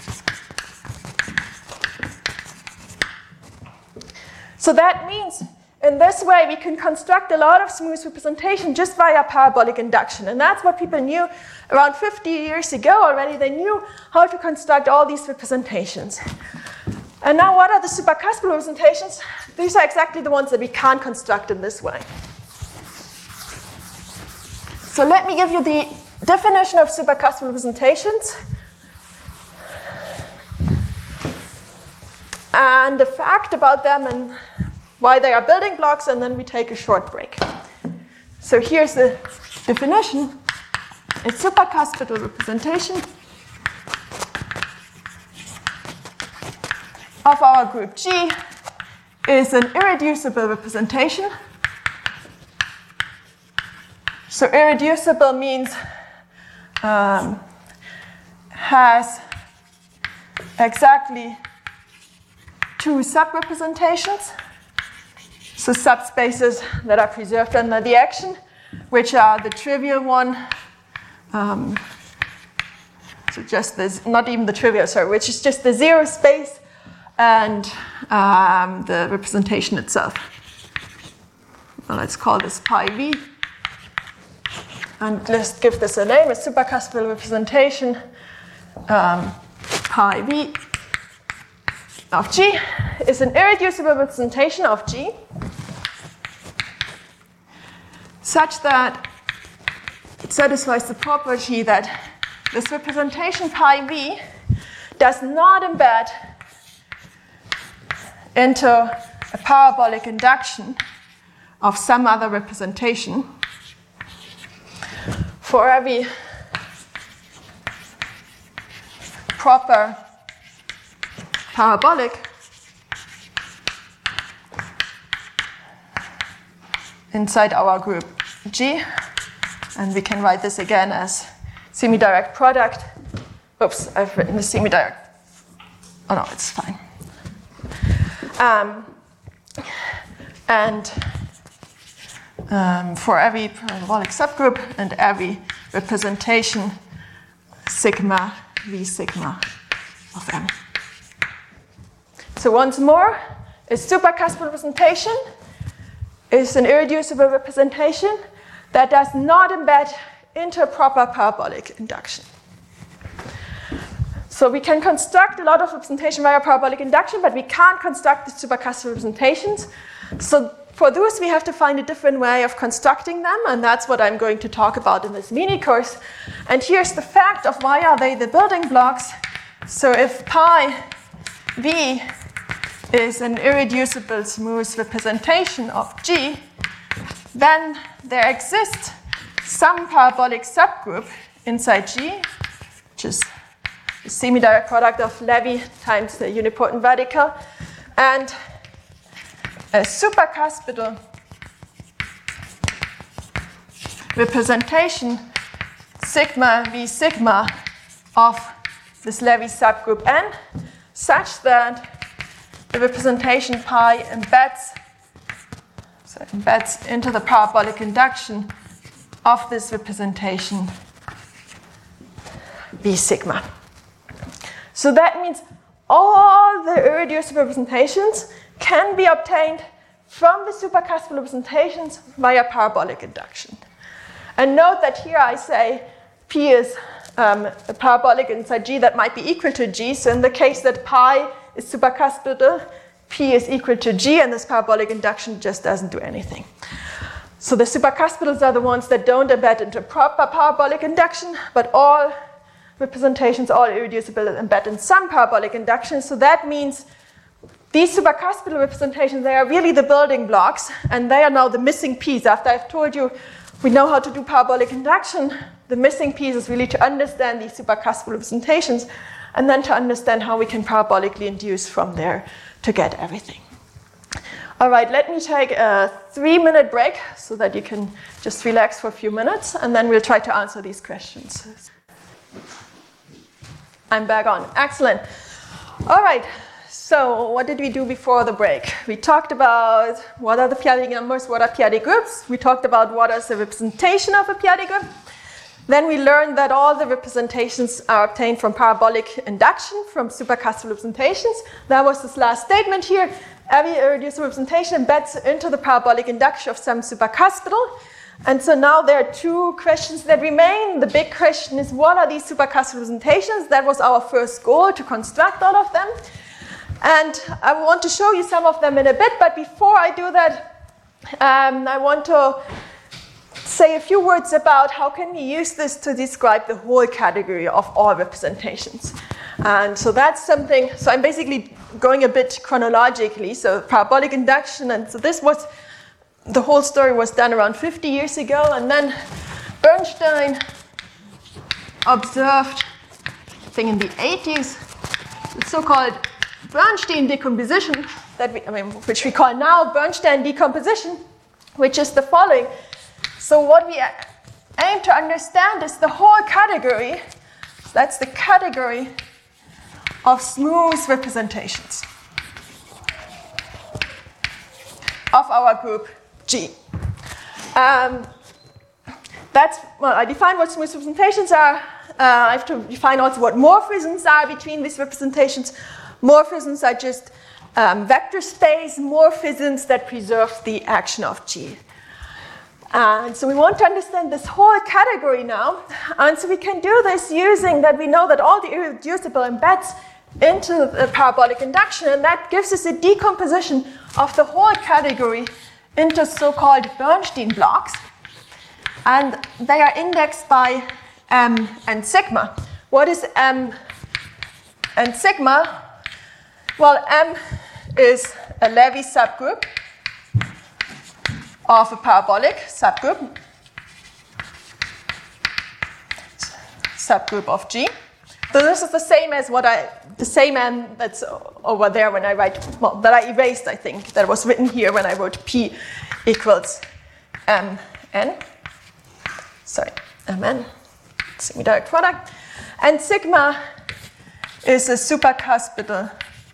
So that means in this way, we can construct a lot of smooth representation just via parabolic induction. And that's what people knew around 50 years ago already. They knew how to construct all these representations. And now what are the supercuspal representations? These are exactly the ones that we can't construct in this way. So let me give you the definition of supercuspal representations. And the fact about them and why they are building blocks, and then we take a short break. So here's the definition. A supercuspal representation of our group G is an irreducible representation. So irreducible means has exactly two subrepresentations. So subspaces that are preserved under the action, which are the trivial one, so just this, not even the trivial, sorry, which is just the zero space and the representation itself. Well, let's call this pi v. And let's give this a name, a supercuspal representation, pi v of G is an irreducible representation of G such that it satisfies the property that this representation pi v does not embed into a parabolic induction of some other representation for every proper parabolic inside our group G, and we can write this again as semi-direct product. Oops, I've written the semi-direct. Oh no, it's fine. For every parabolic subgroup and every representation sigma v sigma of M. So once more, a supercuspal representation is an irreducible representation that does not embed into a proper parabolic induction. So we can construct a lot of representation via parabolic induction, but we can't construct the supercuspal representations. So for those, we have to find a different way of constructing them, and that's what I'm going to talk about in this mini course. And here's the fact of why are they the building blocks. So if pi v is an irreducible smooth representation of G, then there exists some parabolic subgroup inside G, which is the semi-direct product of Levy times the unipotent radical, and a supercuspal representation sigma v sigma of this Levy subgroup N, such that the representation pi embeds into the parabolic induction of this representation v sigma. So that means all the irreducible representations can be obtained from the supercuspal representations via parabolic induction. And note that here I say P is a parabolic inside G that might be equal to G. So in the case that pi is supercuspal, P is equal to G, and this parabolic induction just doesn't do anything. So the supercuspals are the ones that don't embed into proper parabolic induction, but all representations, all irreducible, embed in some parabolic induction. So that means these supercuspal representations, they are really the building blocks, and they are now the missing piece. After I've told you we know how to do parabolic induction, the missing piece is really to understand these supercuspal representations, and then to understand how we can parabolically induce from there to get everything. All right, let me take a 3-minute break so that you can just relax for a few minutes, and then we'll try to answer these questions. I'm back on. Excellent. All right, so what did we do before the break? We talked about what are the p-adic numbers, what are p-adic groups. We talked about what is the representation of a p-adic group. Then we learned that all the representations are obtained from parabolic induction, from supercuspal representations. That was this last statement here. every irreducible representation embeds into the parabolic induction of some supercuspidal. And so now there are two questions that remain. The big question is, what are these supercuspidal representations? That was our first goal, to construct all of them. And I want to show you some of them in a bit, but before I do that, I want to say a few words about how can we use this to describe the whole category of all representations. And so that's something, so I'm basically going a bit chronologically, so parabolic induction, and so this was, the whole story was done around 50 years ago, and then Bernstein observed, I think in the 80s, the so-called Bernstein decomposition, which we call now Bernstein decomposition, which is the following. So what we aim to understand is the whole category, that's the category of smooth representations of our group G. I define what smooth representations are. I have to define also what morphisms are between these representations. Morphisms are just vector space morphisms that preserve the action of G. And so we want to understand this whole category now. And so we can do this using that we know that all the irreducible embeds into the parabolic induction, and that gives us a decomposition of the whole category into so-called Bernstein blocks. And they are indexed by M and sigma. What is M and sigma? Well, M is a Levy subgroup of a parabolic subgroup of G. So this is the same as the same M that's over there when I write, well, that I erased, I think, that was written here when I wrote P equals Mn. Sorry, Mn, semi-direct product. And sigma is a supercuspidal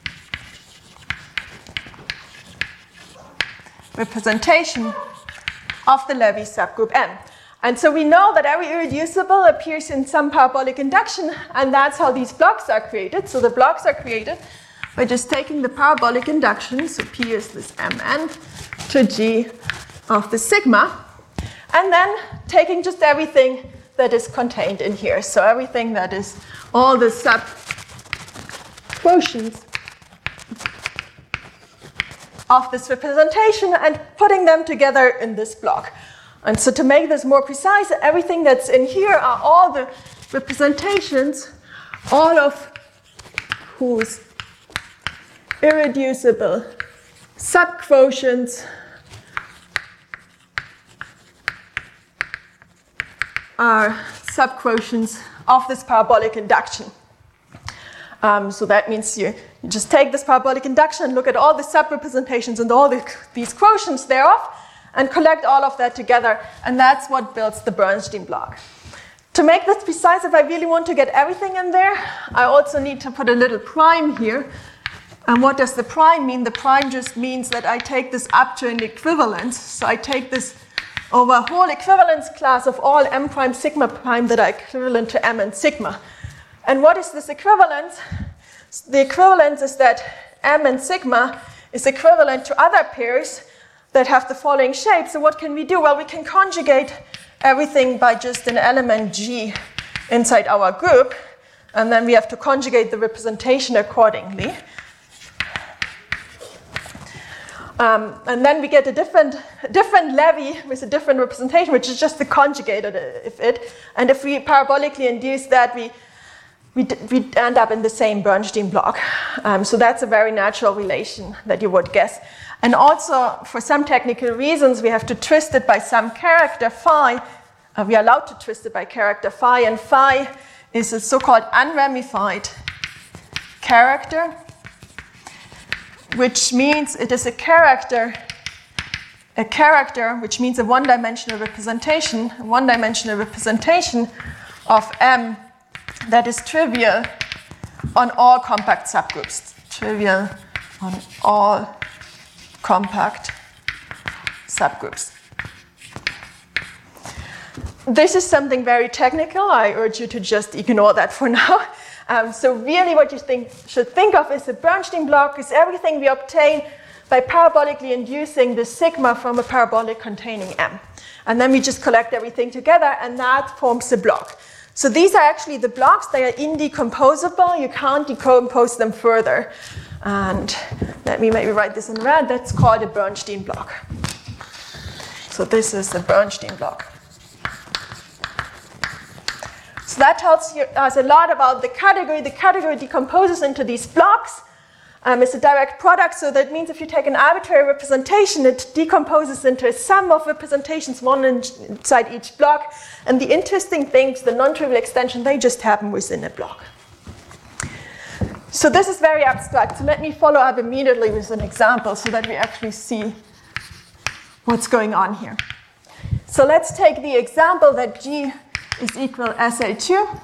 representation of the Levy subgroup M. And so we know that every irreducible appears in some parabolic induction, and that's how these blocks are created. So the blocks are created by just taking the parabolic induction, so P is this Mn, to G of the sigma, and then taking just everything that is contained in here. So everything that is all the sub-quotients of this representation and putting them together in this block. And so to make this more precise, everything that's in here are all the representations, all of whose irreducible subquotients are subquotients of this parabolic induction. So that means you just take this parabolic induction, look at all the subrepresentations and all these quotients thereof, and collect all of that together, and that's what builds the Bernstein block. To make this precise, if I really want to get everything in there, I also need to put a little prime here. And what does the prime mean? The prime just means that I take this up to an equivalence. So I take this over a whole equivalence class of all M prime sigma prime that are equivalent to M and sigma. And what is this equivalence? The equivalence is that M and sigma is equivalent to other pairs that have the following shape. So what can we do? Well, we can conjugate everything by just an element G inside our group, and then we have to conjugate the representation accordingly. And then we get a different Levy with a different representation, which is just the conjugated of it. And if we parabolically induce that, we end up in the same Bernstein block. So that's a very natural relation that you would guess. And also, for some technical reasons, we have to twist it by some character phi. We are allowed to twist it by character phi, and phi is a so-called unramified character, which means it is a character which means a one-dimensional representation of M that is trivial on all compact subgroups. Trivial on all compact subgroups. This is something very technical. I urge you to just ignore that for now. So really what you should think of is a Bernstein block is everything we obtain by parabolically inducing the sigma from a parabolic containing M. And then we just collect everything together, and that forms the block. So these are actually the blocks. They are indecomposable. You can't decompose them further. And let me maybe write this in red. That's called a Bernstein block. So this is the Bernstein block. So that tells us a lot about the category. The category decomposes into these blocks. It's a direct product, so that means if you take an arbitrary representation, it decomposes into a sum of representations, one inside each block. And the interesting things, the non-trivial extension, they just happen within a block. So this is very abstract. So let me follow up immediately with an example so that we actually see what's going on here. So let's take the example that G is equal SL2.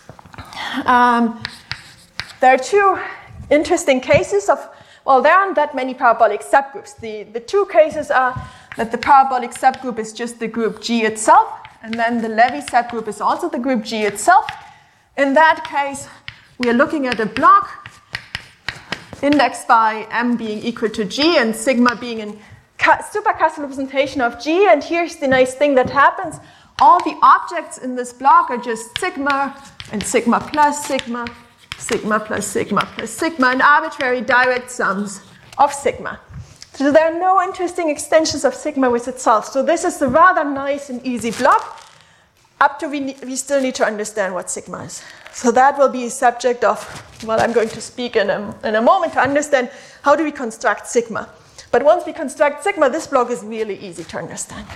There are two interesting cases of, well, there aren't that many parabolic subgroups. The two cases are that the parabolic subgroup is just the group G itself, and then the Levy subgroup is also the group G itself. In that case, we are looking at a block indexed by M being equal to G and sigma being a supercustal representation of G. And here's the nice thing that happens. All the objects in this block are just sigma and sigma plus sigma, sigma plus sigma plus sigma, and arbitrary direct sums of sigma. So there are no interesting extensions of sigma with itself. So this is a rather nice and easy block, up to we still need to understand what sigma is. So that will be a subject of what I'm going to speak in a moment, to understand how do we construct sigma. But once we construct sigma, this block is really easy to understand.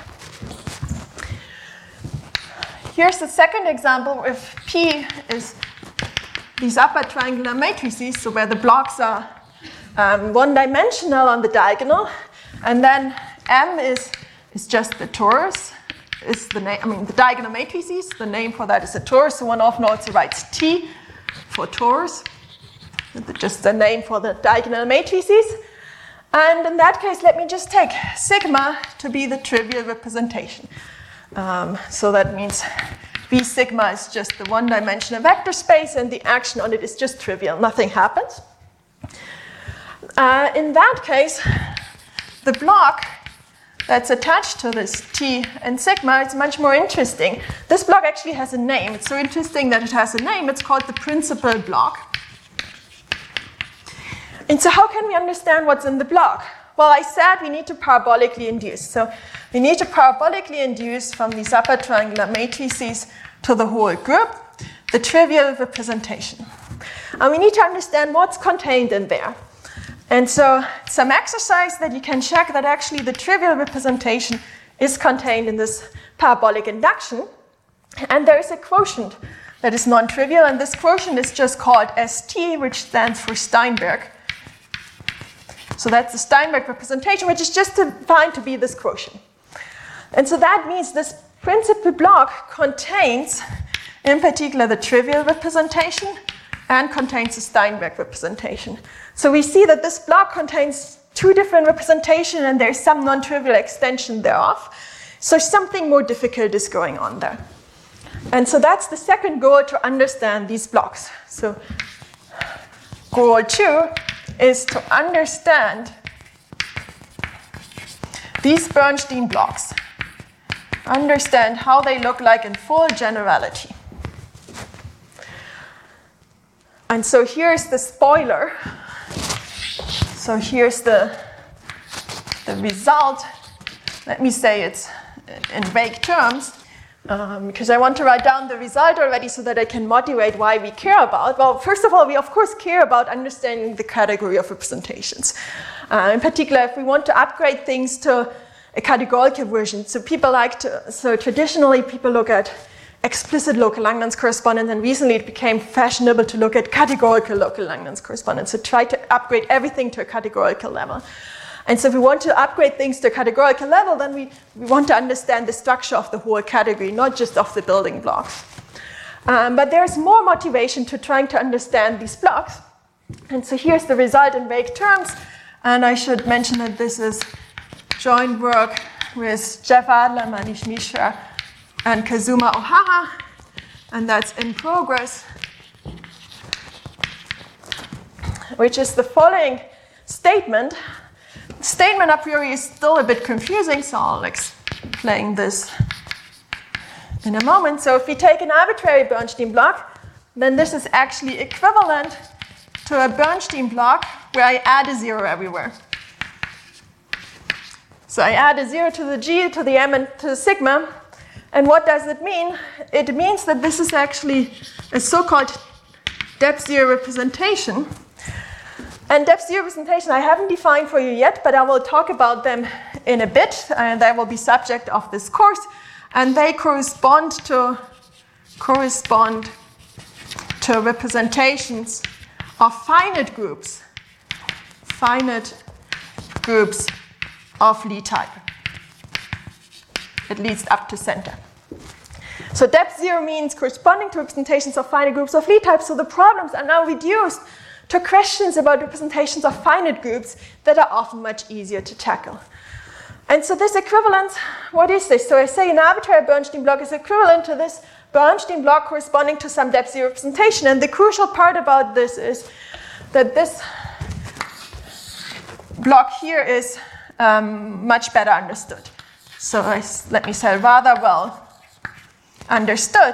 Here's the second example if P is these upper triangular matrices, so where the blocks are one-dimensional on the diagonal, and then M is just the torus, is the name. I mean, the diagonal matrices. The name for that is a torus. So one often also writes T for torus, just the name for the diagonal matrices. And in that case, let me just take sigma to be the trivial representation. So that means V sigma is just the one-dimensional vector space, and the action on it is just trivial. Nothing happens. In that case, the block that's attached to this T and sigma is much more interesting. This block actually has a name. It's so interesting that it has a name. It's called the principal block. And so how can we understand what's in the block? Well, I said we need to parabolically induce. So we need to parabolically induce from these upper triangular matrices to the whole group the trivial representation. And we need to understand what's contained in there. And so some exercise that you can check that actually the trivial representation is contained in this parabolic induction. And there is a quotient that is non-trivial, and this quotient is just called ST, which stands for Steinberg. So that's the Steinberg representation, which is just defined to be this quotient. And so that means this principal block contains, in particular, the trivial representation and contains the Steinberg representation. So we see that this block contains two different representations, and there's some non-trivial extension thereof. So something more difficult is going on there. And so that's the second goal, to understand these blocks. So goal 2 is to understand these Bernstein blocks. Understand how they look like in full generality. And so here's the spoiler. So here's the result. Let me say it's in vague terms, because I want to write down the result already so that I can motivate why we care about. Well, first of all, we of course care about understanding the category of representations. In particular, if we want to upgrade things to a categorical version. So traditionally people look at explicit local Langlands correspondence, and recently it became fashionable to look at categorical local Langlands correspondence. So try to upgrade everything to a categorical level. And so if we want to upgrade things to a categorical level, then we want to understand the structure of the whole category, not just of the building blocks. But there's more motivation to trying to understand these blocks. And so here's the result in vague terms. And I should mention that this is joint work with Jeff Adler, Manish Mishra, and Kazuma Ohara, and that's in progress, which is the following statement. statement a priori is still a bit confusing, so I'll explain this in a moment. So if we take an arbitrary Bernstein block, then this is actually equivalent to a Bernstein block where I add a 0 everywhere. So I add a 0 to the G, to the M, and to the sigma. And what does it mean? It means that this is actually a so-called depth 0 representation. And depth 0 representation I haven't defined for you yet, but I will talk about them in a bit, and they will be subject of this course. And they correspond to representations of finite groups of Lie type, at least up to center. So depth 0 means corresponding to representations of finite groups of Lie type. So the problems are now reduced to questions about representations of finite groups that are often much easier to tackle. And so this equivalence, what is this? So I say an arbitrary Bernstein block is equivalent to this Bernstein block corresponding to some depth 0 representation. And the crucial part about this is that this block here is much better understood. So let me say rather well understood.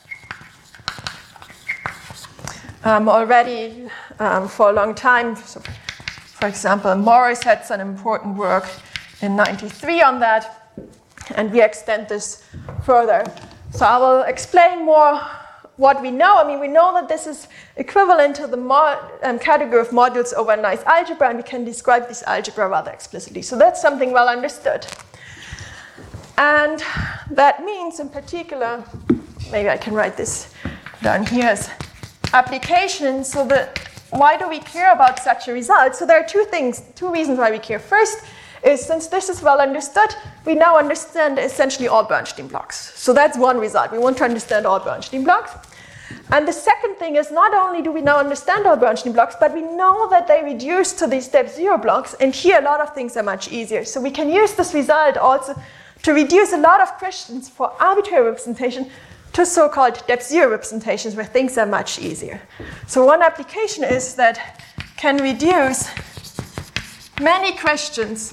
Already for a long time, so for example, Morris had some important work in '93 on that, and we extend this further. So I will explain more what we know. I mean, we know that this is equivalent to the category of modules over a nice algebra, and we can describe this algebra rather explicitly. So that's something well understood. And that means, in particular, maybe I can write this down here as application. So why do we care about such a result? So there are two reasons why we care. First is, since this is well understood, we now understand essentially all Bernstein blocks. So that's one result. We want to understand all Bernstein blocks. And the second thing is, not only do we now understand all Bernstein blocks, but we know that they reduce to these depth 0 blocks, and here a lot of things are much easier. So we can use this result also to reduce a lot of questions for arbitrary representation to so-called depth 0 representations where things are much easier. So one application is that can reduce many questions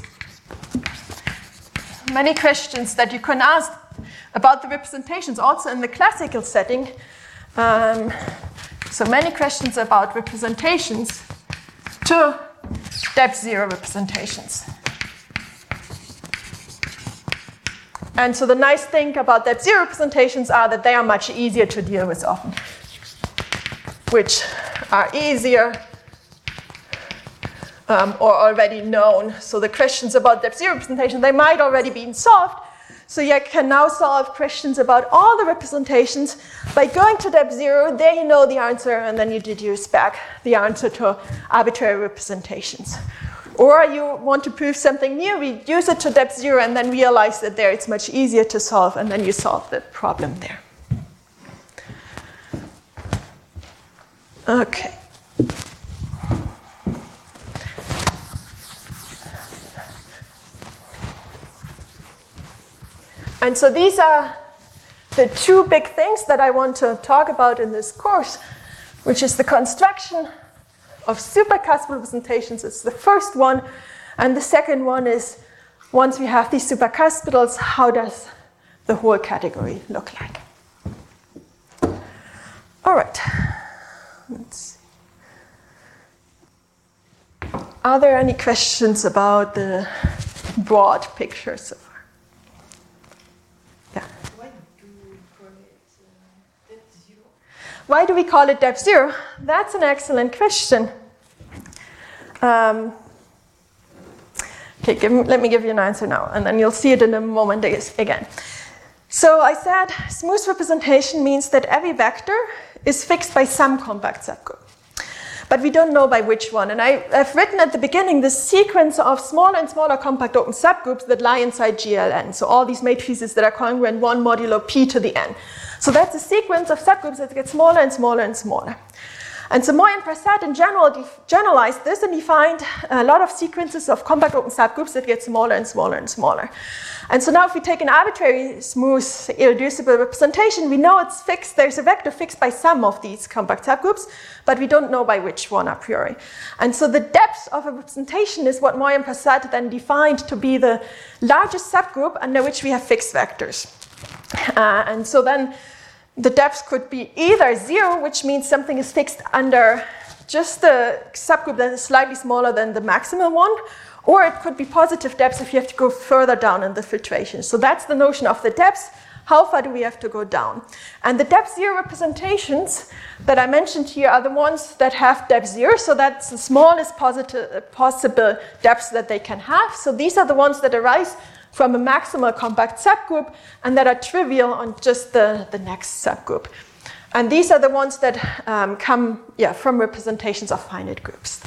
that you can ask about the representations also in the classical setting. So many questions about representations to depth 0 representations. And so the nice thing about depth 0 representations are that they are much easier to deal with often, which are easier or already known. So the questions about depth 0 representation, they might already be solved. So you can now solve questions about all the representations by going to depth 0. There you know the answer, and then you deduce back the answer to arbitrary representations. Or you want to prove something new, reduce it to depth 0, and then realize that there it's much easier to solve, and then you solve the problem there. Okay. And so these are the two big things that I want to talk about in this course, which is the construction of supercuspal representations is the first one. And the second one is, once we have these supercuspitals, how does the whole category look like? All right. Let's see. Are there any questions about the broad picture so far? Yeah. Why do we call it depth 0? That's an excellent question. Okay, let me give you an answer now, and then you'll see it in a moment again. So I said smooth representation means that every vector is fixed by some compact subgroup. But we don't know by which one. And I've written at the beginning this sequence of smaller and smaller compact open subgroups that lie inside GLN. So all these matrices that are congruent 1 modulo p to the n. So that's a sequence of subgroups that get smaller and smaller and smaller. And so Moy and Prasad in general generalized this and defined a lot of sequences of compact open subgroups that get smaller and smaller and smaller. And so now if we take an arbitrary, smooth, irreducible representation, we know it's fixed. There's a vector fixed by some of these compact subgroups, but we don't know by which one a priori. And so the depth of a representation is what Moy and Prasad then defined to be the largest subgroup under which we have fixed vectors. And so then the depth could be either 0, which means something is fixed under just the subgroup that is slightly smaller than the maximal one, or it could be positive depth if you have to go further down in the filtration. So that's the notion of the depth. How far do we have to go down? And the depth 0 representations that I mentioned here are the ones that have depth 0, so that's the smallest possible depth that they can have. So these are the ones that arise from a maximal compact subgroup and that are trivial on just the next subgroup. And these are the ones that come from representations of finite groups.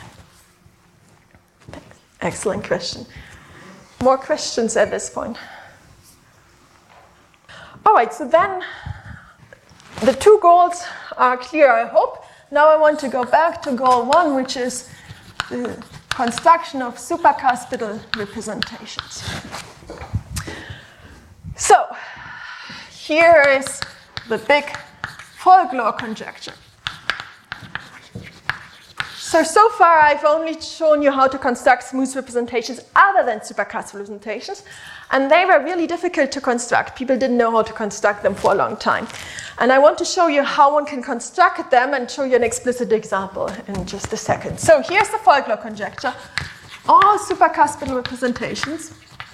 Excellent question. More questions at this point? All right, so then the two goals are clear, I hope. Now I want to go back to goal 1, which is the construction of supercuspidal representations. So here is the big folklore conjecture. So far I've only shown you how to construct smooth representations other than supercuspidal representations, and they were really difficult to construct. People didn't know how to construct them for a long time. And I want to show you how one can construct them and show you an explicit example in just a second. So here's the folklore conjecture. All supercuspidal representations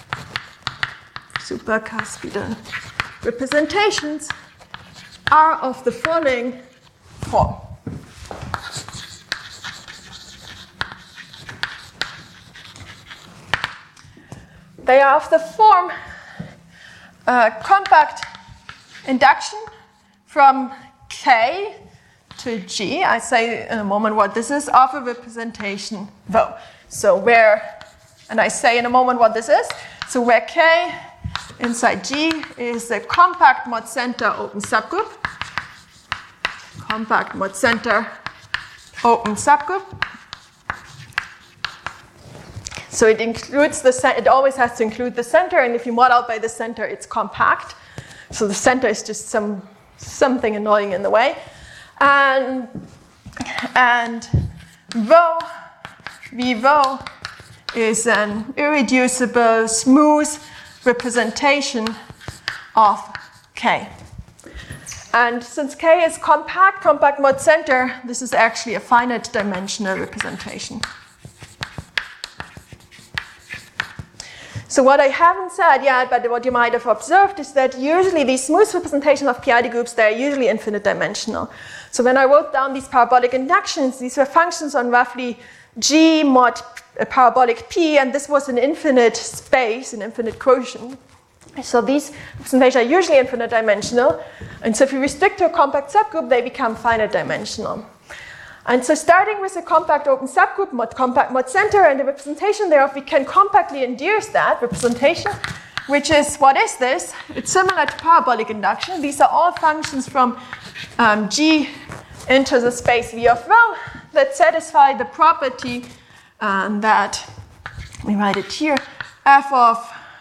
are of the following form. They are of the form compact induction from K to G. I say in a moment what this is, of a representation Rho. So where, and I say in a moment what this is, so where K inside G is a compact mod center open subgroup. Compact mod center open subgroup. So it includes it always has to include the center, and if you mod out by the center, it's compact. So the center is just something annoying in the way. And Rho, V Rho, is an irreducible, smooth representation of K. And since K is compact mod center, this is actually a finite dimensional representation. So what I haven't said yet, but what you might have observed, is that usually these smooth representations of PID groups, they're usually infinite dimensional. So when I wrote down these parabolic inductions, these were functions on roughly G mod parabolic P, and this was an infinite space, an infinite quotient. So these representations are usually infinite dimensional, and so if you restrict to a compact subgroup, they become finite dimensional. And so starting with a compact open subgroup, compact mod center, and the representation thereof, we can compactly induce that representation, which is, what is this? It's similar to parabolic induction. These are all functions from G into the space V of Rho that satisfy the property that, let me write it here, f of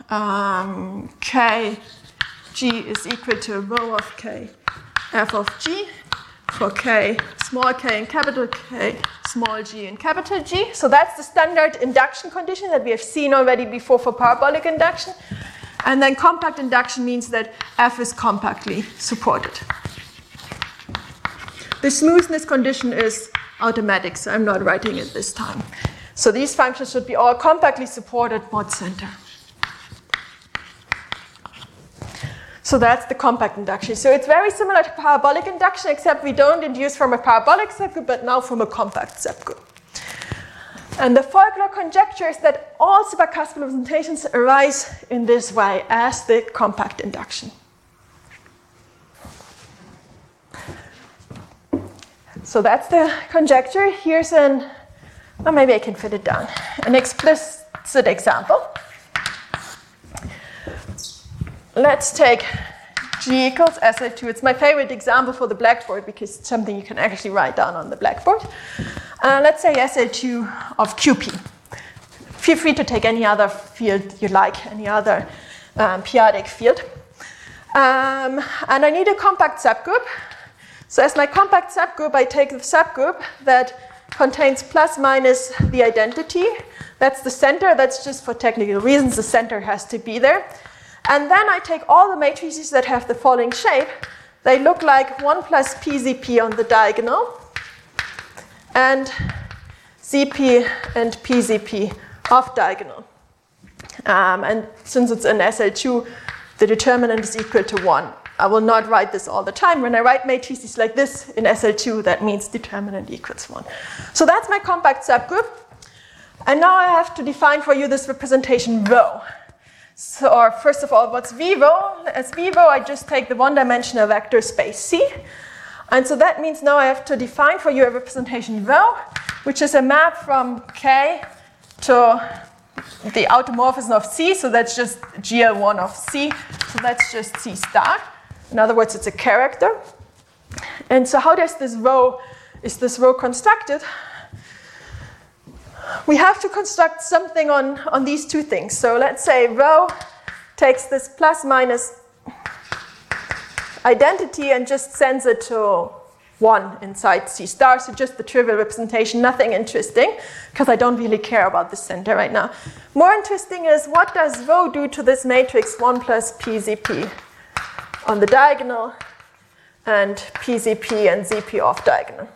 K G is equal to Rho of K f of G for K, small k and capital K, small g and capital G. So that's the standard induction condition that we have seen already before for parabolic induction. And then compact induction means that f is compactly supported. The smoothness condition is automatic, so I'm not writing it this time. So these functions should be all compactly supported mod center. So that's the compact induction. So it's very similar to parabolic induction, except we don't induce from a parabolic subgroup, but now from a compact subgroup. And the folklore conjecture is that all supercuspidal representations arise in this way as the compact induction. So that's the conjecture. Here's an, or maybe I can fit it down, an explicit example. Let's take G equals SL2. It's my favorite example for the blackboard because it's something you can actually write down on the blackboard. Let's say SL2 of QP. Feel free to take any other field you like, any other periodic field. And I need a compact subgroup. So as my compact subgroup, I take the subgroup that contains plus minus the identity. That's the center. That's just for technical reasons. The center has to be there. And then I take all the matrices that have the following shape. They look like 1 plus PZP on the diagonal, and ZP and PZP off diagonal. And since it's an SL2, the determinant is equal to 1. I will not write this all the time. When I write matrices like this in SL2, that means determinant equals 1. So that's my compact subgroup. And now I have to define for you this representation rho. So first of all, what's V rho? As V rho, I just take the one-dimensional vector space C. And so that means now I have to define for you a representation rho, which is a map from K to the automorphism of C. So that's just GL1 of C. So that's just C star. In other words, it's a character. And so how is this rho constructed? We have to construct something on these two things. So let's say rho takes this plus minus identity and just sends it to 1 inside C star. So just the trivial representation, nothing interesting, because I don't really care about the center right now. More interesting is what does rho do to this matrix 1 plus PZP on the diagonal and PZP and ZP off diagonal.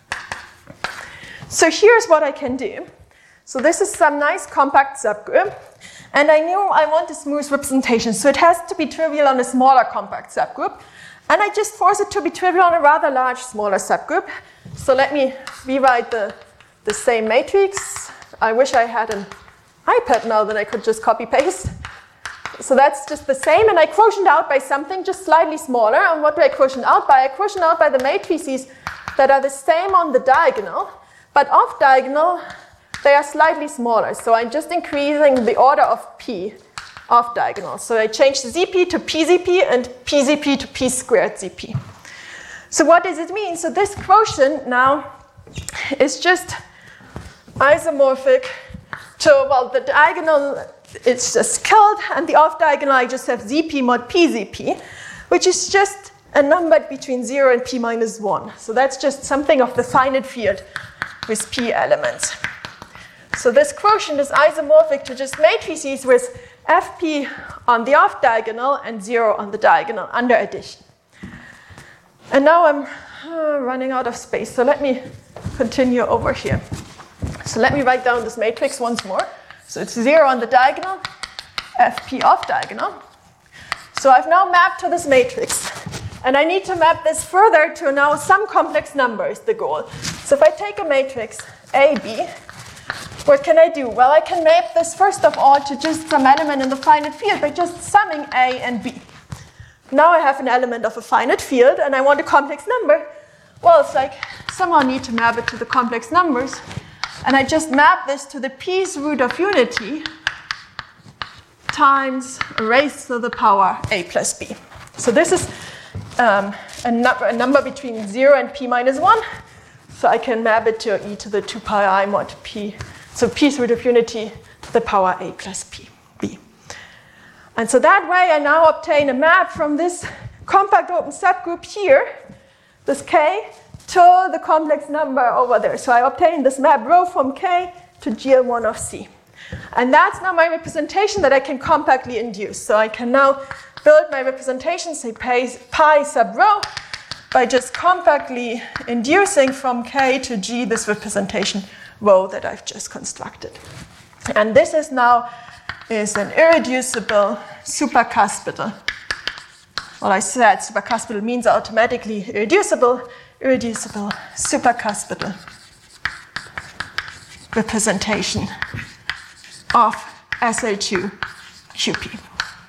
So here's what I can do. So this is some nice compact subgroup. And I knew I want a smooth representation. So it has to be trivial on a smaller compact subgroup. And I just force it to be trivial on a rather large, smaller subgroup. So let me rewrite the same matrix. I wish I had an iPad now that I could just copy paste. So that's just the same. And I quotient out by something just slightly smaller. And what do I quotient out by? I quotient out by the matrices that are the same on the diagonal. But off diagonal, they are slightly smaller. So I'm just increasing the order of P off diagonal. So I change the ZP to PZP and PZP to P squared ZP. So what does it mean? So this quotient now is just isomorphic to, well, the diagonal is just killed, and the off diagonal I just have ZP mod PZP, which is just a number between 0 and P minus 1. So that's just something of the finite field with P elements. So this quotient is isomorphic to just matrices with Fp on the off diagonal and 0 on the diagonal under addition. And now I'm running out of space, so let me continue over here. So let me write down this matrix once more. So it's 0 on the diagonal, Fp off diagonal. So I've now mapped to this matrix. And I need to map this further to now some complex number is the goal. So if I take a matrix AB, what can I do? Well, I can map this first of all to just some element in the finite field by just summing A and B. Now I have an element of a finite field and I want a complex number. Well, it's like somehow I need to map it to the complex numbers. And I just map this to the P's root of unity times raised to the power A plus B. So this is a number between 0 and P minus 1. So I can map it to e to the 2 pi I mod P. So P's root of unity to the power A plus P, B. And so that way I now obtain a map from this compact open subgroup here, this K, to the complex number over there. So I obtain this map rho from K to GL1 of C. And that's now my representation that I can compactly induce. So I can now build my representation, say pi sub rho, by just compactly inducing from K to G this representation rho that I've just constructed. And this is now an irreducible supercuspidal. Well, I said supercuspidal means automatically irreducible supercuspidal representation of SL2 QP.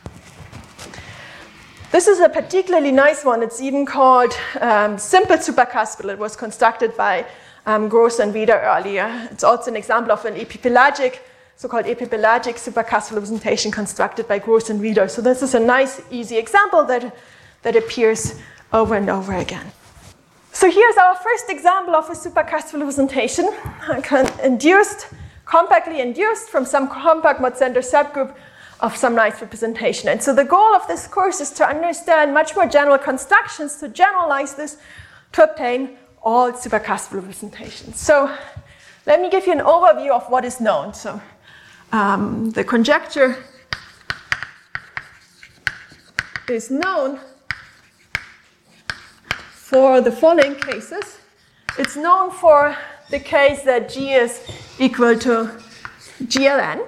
This is a particularly nice one. It's even called simple supercuspidal. It was constructed by Gross and Wieder earlier. It's also an example of an epipelagic, so-called epipelagic supercuspidal representation constructed by Gross and Wieder. So this is a nice, easy example that that appears over and over again. So here's our first example of a superclassical representation, compactly induced from some compact mod center subgroup of some nice representation. And so the goal of this course is to understand much more general constructions, to generalize this to obtain all superclassical representations. So let me give you an overview of what is known. So the conjecture is known for the following cases. It's known for the case that G is equal to GLN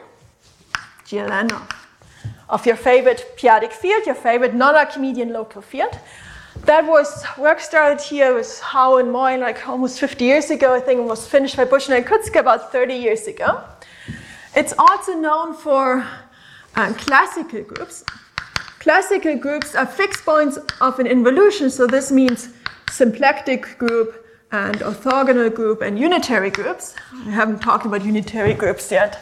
of your favorite p-adic field, your favorite non-Archimedean local field. That was work started here with Howe and Moy like almost 50 years ago. I think it was finished by Bushner and Kutzke about 30 years ago. It's also known for classical groups. Classical groups are fixed points of an involution, so this means symplectic group and orthogonal group and unitary groups. I haven't talked about unitary groups yet.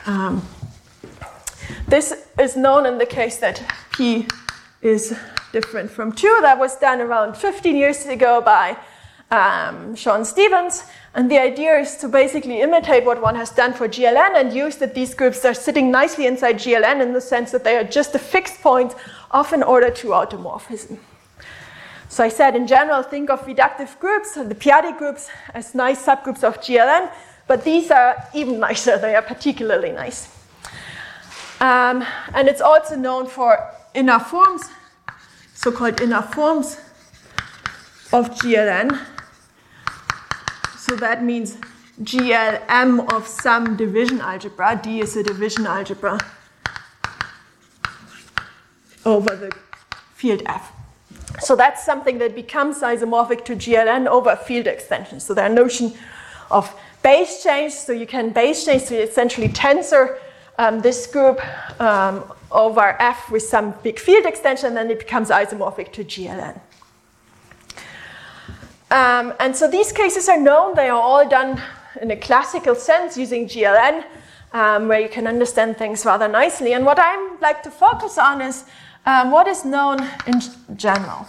This is known in the case that P is different from 2. That was done around 15 years ago by Sean Stevens. And the idea is to basically imitate what one has done for GLN and use that these groups are sitting nicely inside GLN in the sense that they are just a fixed point of an order 2 automorphism. So I said in general, think of reductive groups, the p-adic groups, as nice subgroups of GLN, but these are even nicer. They are particularly nice. And it's also known for inner forms, so-called inner forms of GLN. So that means GLM of some division algebra. D is a division algebra over the field F. So that's something that becomes isomorphic to GLN over field extension. So there's a notion of base change. So you can base change, so you essentially tensor this group over F with some big field extension, and then it becomes isomorphic to GLN. And so these cases are known. They are all done in a classical sense using GLN, where you can understand things rather nicely. And what I like to focus on is what is known in general.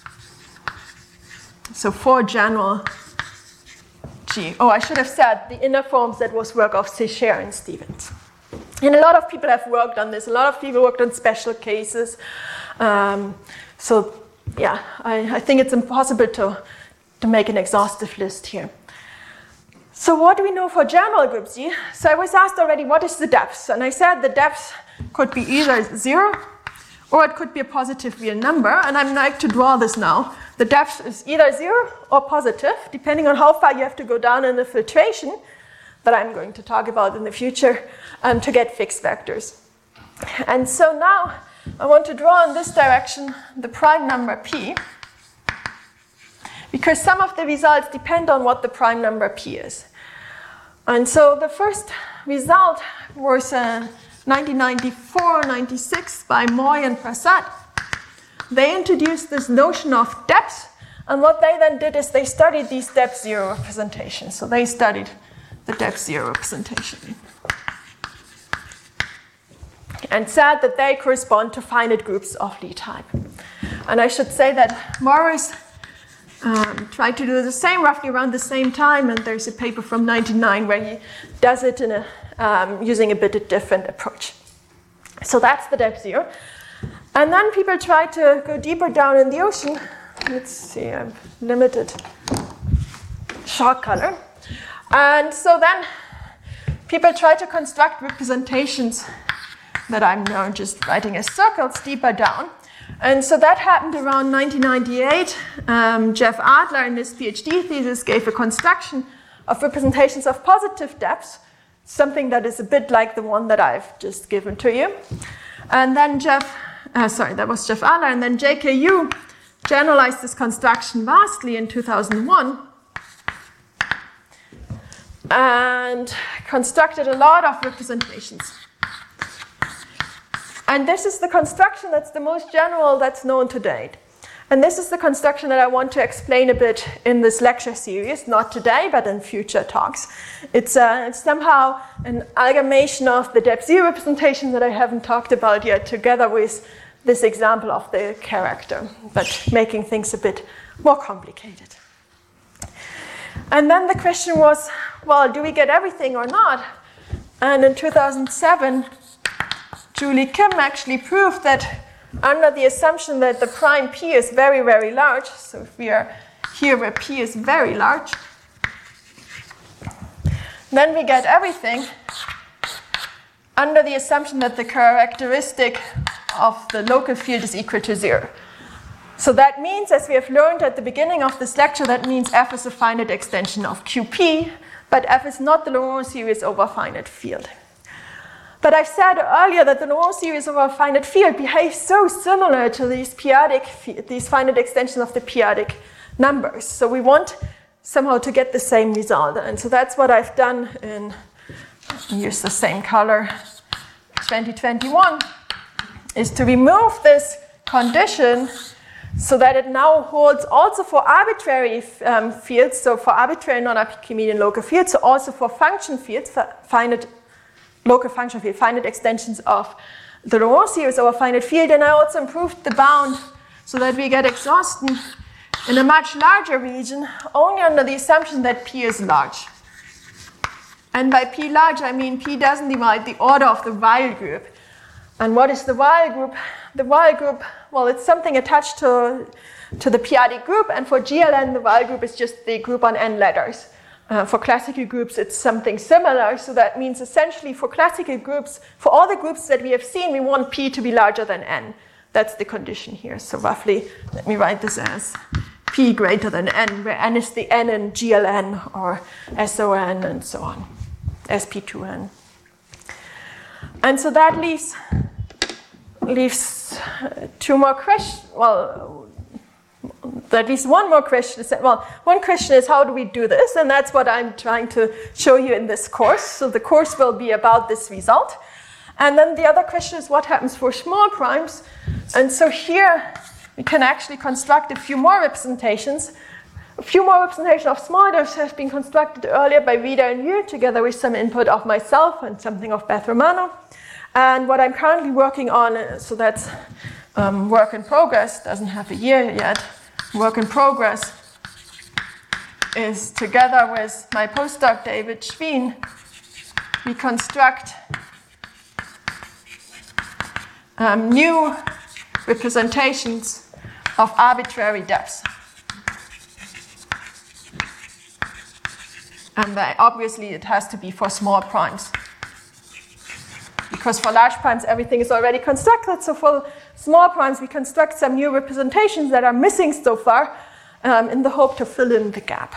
So for general G. Oh, I should have said the inner forms, that was work of Sécher and Stevens. And a lot of people have worked on this. A lot of people worked on special cases. So yeah, I think it's impossible to make an exhaustive list here. So what do we know for general group G? So I was asked already, what is the depth? And I said the depth could be either 0 or it could be a positive real number. And I'm like to draw this now. The depth is either 0 or positive, depending on how far you have to go down in the filtration that I'm going to talk about in the future to get fixed vectors. And so now I want to draw in this direction the prime number P, because some of the results depend on what the prime number P is. And so the first result was 1994-96 by Moy and Prasad. They introduced this notion of depth, and what they then did is they studied these depth 0 representations. So they studied the depth 0 representation and said that they correspond to finite groups of Lie type. And I should say that Morris tried to do the same roughly around the same time, and there's a paper from 1999 where he does it in using a bit of different approach. So that's the depth 0. And then people try to go deeper down in the ocean. Let's see, I've limited short color. And so then people try to construct representations that I'm now just writing as circles deeper down. And so that happened around 1998. Jeff Adler in his PhD thesis gave a construction of representations of positive depths, something that is a bit like the one that I've just given to you. And then that was Jeff Adler, and then JKU generalized this construction vastly in 2001 and constructed a lot of representations. And this is the construction that's the most general that's known to date. And this is the construction that I want to explain a bit in this lecture series, not today, but in future talks. It's somehow an amalgamation of the depth 0 representation that I haven't talked about yet, together with this example of the character, but making things a bit more complicated. And then the question was, well, do we get everything or not? And in 2007, Julie Kim actually proved that under the assumption that the prime p is very, very large, so if we are here where p is very large, then we get everything under the assumption that the characteristic of the local field is equal to 0. So that means, as we have learned at the beginning of this lecture, that means f is a finite extension of QP, but f is not the Laurent series over a finite field. But I've said earlier that the Laurent series over a finite field behaves so similar to these finite extensions of the periodic numbers. So we want somehow to get the same result. And so that's what I've done in, use the same color, 2021, is to remove this condition so that it now holds also for arbitrary fields, so for arbitrary non-Archimedean local fields, so also for function fields, for finite local function field, finite extensions of the Laurent series over a finite field. And I also improved the bound so that we get exhaustion in a much larger region, only under the assumption that P is large. And by P large, I mean P doesn't divide the order of the Weyl group. And what is the Weyl group? The Weyl group, well, it's something attached to the periodic group, and for GLN, the Weyl group is just the group on n letters. For classical groups, it's something similar, so that means essentially for classical groups, for all the groups that we have seen, we want P to be larger than n. That's the condition here. So roughly, let me write this as P greater than n, where n is the n in GLN or SON and so on, SP2n. And so that leaves two more questions. Well, at least one more question. Well, one question is, how do we do this? And that's what I'm trying to show you in this course. So the course will be about this result. And then the other question is, what happens for small primes? And so here we can actually construct a few more representations. A few more representations of small diffs have been constructed earlier by Vida and Yu, together with some input of myself and something of Beth Romano. And what I'm currently working on, so that's work in progress, doesn't have a year yet, work in progress, is together with my postdoc David Schween, we construct new representations of arbitrary depths. And obviously it has to be for small primes. Because for large primes, everything is already constructed. So for small primes, we construct some new representations that are missing so far in the hope to fill in the gap.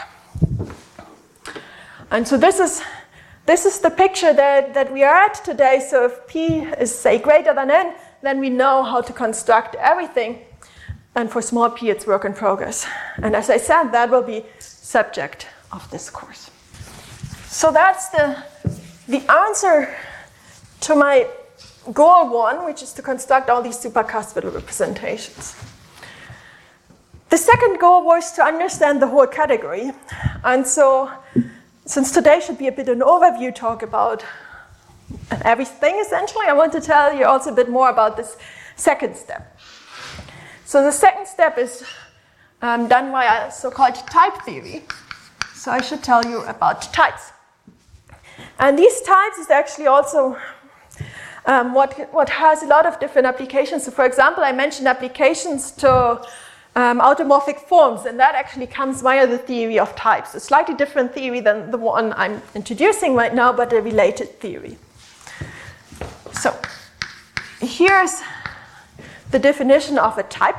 And so this is the picture that we are at today. So if P is, say, greater than n, then we know how to construct everything. And for small p, it's work in progress. And as I said, that will be subject of this course. So that's the answer to my goal one, which is to construct all these supercuspidal representations. The second goal was to understand the whole category. And so, since today should be a bit an overview talk about everything, essentially, I want to tell you also a bit more about this second step. So the second step is done via so-called type theory. So I should tell you about types. And these types is actually also what has a lot of different applications. So for example, I mentioned applications to automorphic forms, and that actually comes via the theory of types. A slightly different theory than the one I'm introducing right now, but a related theory. So here's the definition of a type.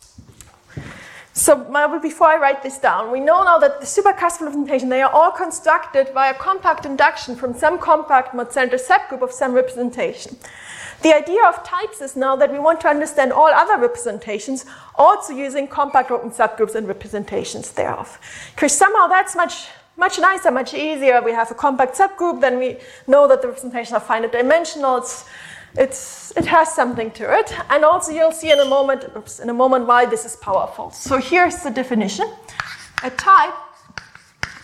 So before I write this down, we know now that the supercuspidal representation, they are all constructed via compact induction from some compact mod-center subgroup of some representation. The idea of types is now that we want to understand all other representations, also using compact open subgroups and representations thereof. Because somehow that's much nicer, much easier. We have a compact subgroup, then we know that the representation are finite dimensional. It has something to it. And also you'll see in a moment why this is powerful. So here's the definition. A type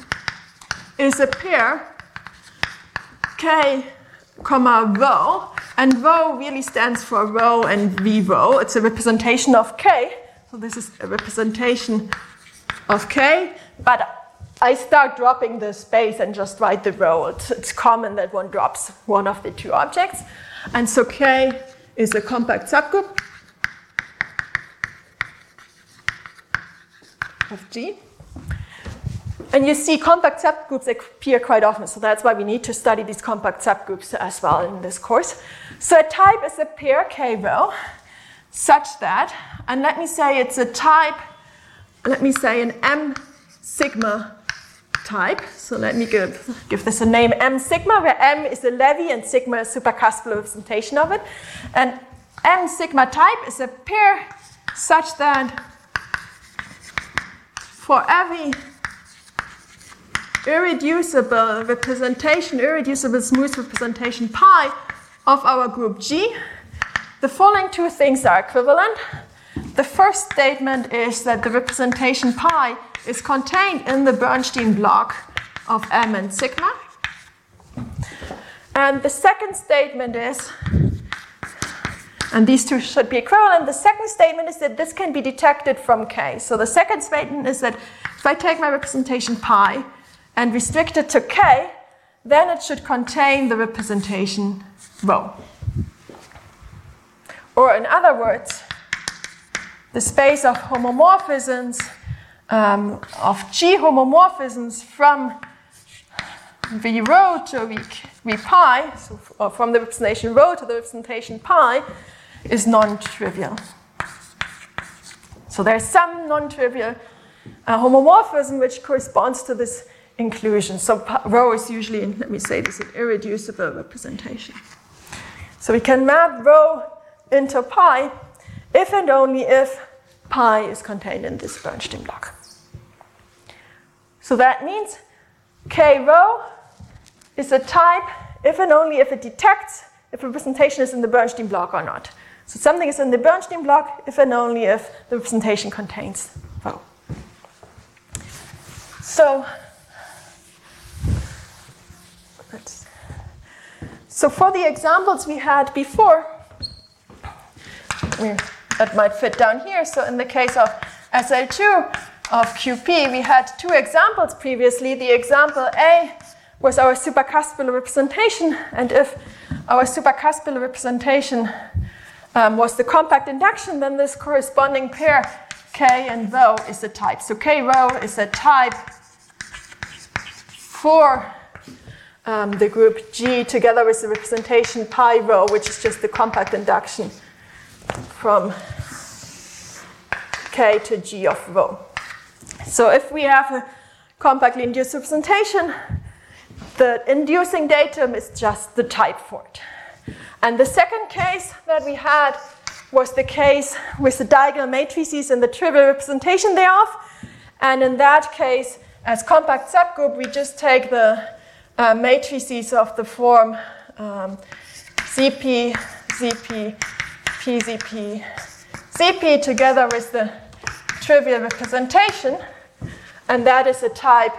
is a pair K, rho And rho really stands for rho and v rho. It's a representation of K. So this is a representation of K. But I start dropping the space and just write the rho. It's common that one drops one of the two objects. And so K is a compact subgroup of G. And you see compact subgroups appear quite often, so that's why we need to study these compact subgroups as well in this course. So a type is a pair K rho such that, and let me say it's a type, let me say an M sigma type. So let me give this a name, M sigma, where M is a Levy and sigma is a supercuspal representation of it. And M sigma type is a pair such that for every irreducible representation, irreducible smooth representation pi of our group G, the following two things are equivalent. The first statement is that the representation pi is contained in the Bernstein block of M and sigma. And the second statement is, and these two should be equivalent, the second statement is that this can be detected from K. So the second statement is that if I take my representation pi and restrict it to K, then it should contain the representation rho. Or in other words, the space of homomorphisms, of G homomorphisms from V rho to V pi, so from the representation rho to the representation pi, is non-trivial. So there's some non-trivial homomorphism which corresponds to this inclusion. So rho is usually, let me say this, an irreducible representation. So we can map rho into pi if and only if pi is contained in this Bernstein block. So that means K rho is a type if and only if it detects if a representation is in the Bernstein block or not. So something is in the Bernstein block if and only if the representation contains rho. So for the examples we had before, that might fit down here. So in the case of SL2 of QP, we had two examples previously. The example A was our supercuspal representation, and if our supercuspal representation was the compact induction, then this corresponding pair K and rho is a type. So K rho is a type for the group G together with the representation pi rho, which is just the compact induction from K to G of rho. So if we have a compactly induced representation, the inducing datum is just the type for it. And the second case that we had was the case with the diagonal matrices and the trivial representation thereof. And in that case, as compact subgroup, we just take the matrices of the form ZP, ZP, PZP, ZP together with the trivial representation, and that is a type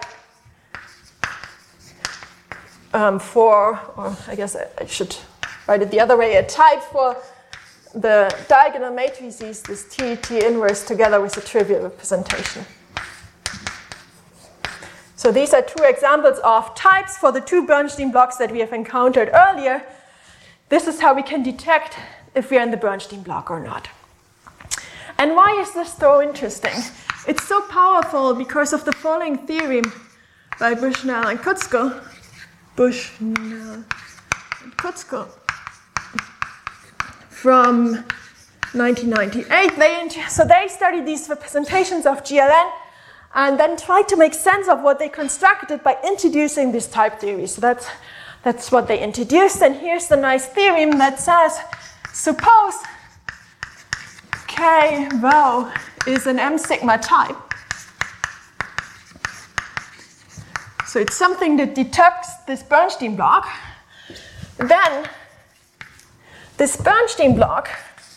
for, or I guess I should write it the other way, a type for the diagonal matrices, this T inverse together with the trivial representation. So these are two examples of types for the two Bernstein blocks that we have encountered earlier. This is how we can detect if we are in the Bernstein block or not. And why is this so interesting? It's so powerful because of the following theorem by Bushnell and Kutzko. From 1998. So they studied these representations of GLN and then tried to make sense of what they constructed by introducing this type theory. So that's what they introduced. And here's the nice theorem that says, suppose K rho is an M sigma type. So it's something that detects this Bernstein block. Then this Bernstein block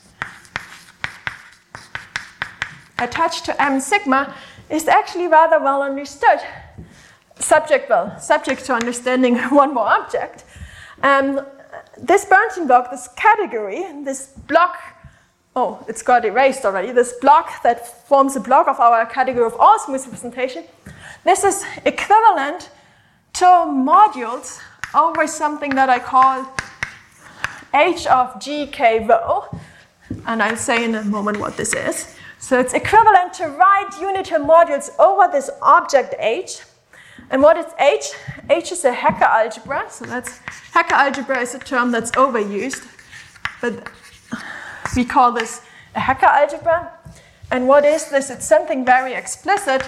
attached to M sigma is actually rather well understood. Subject to understanding one more object. this Bernstein block, this category, this block, oh, it's got erased already, this block that forms a block of our category of all smooth representation, this is equivalent to modules over something that I call h of g k rho, and I'll say in a moment what this is. So it's equivalent to right unitary modules over this object H. And what is H? H is a Hecker algebra. So Hecker algebra is a term that's overused, but we call this a Hecker algebra. And what is this? It's something very explicit.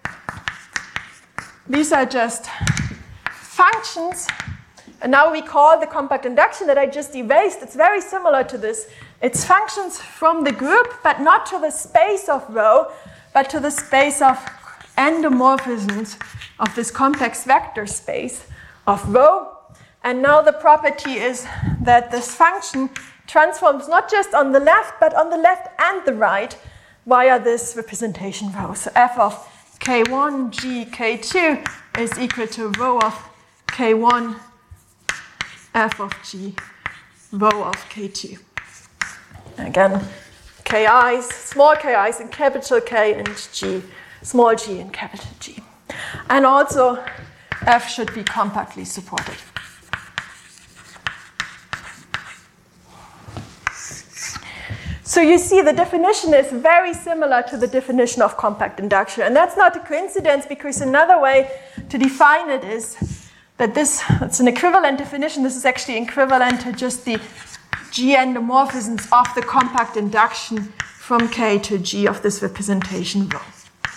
These are just functions. And now we call the compact induction that I just erased, it's very similar to this. It's functions from the group, but not to the space of rho, but to the space of endomorphisms of this complex vector space of rho. And now the property is that this function transforms not just on the left, but on the left and the right via this representation rho. So f of k1 g k2 is equal to rho of k1 f of g rho of k2. Again, ki's, small ki's in capital K and g, small g in capital G. And also, f should be compactly supported. So you see the definition is very similar to the definition of compact induction. And that's not a coincidence, because another way to define it is that it's an equivalent definition. This is actually equivalent to just the G endomorphisms of the compact induction from K to G of this representation rho.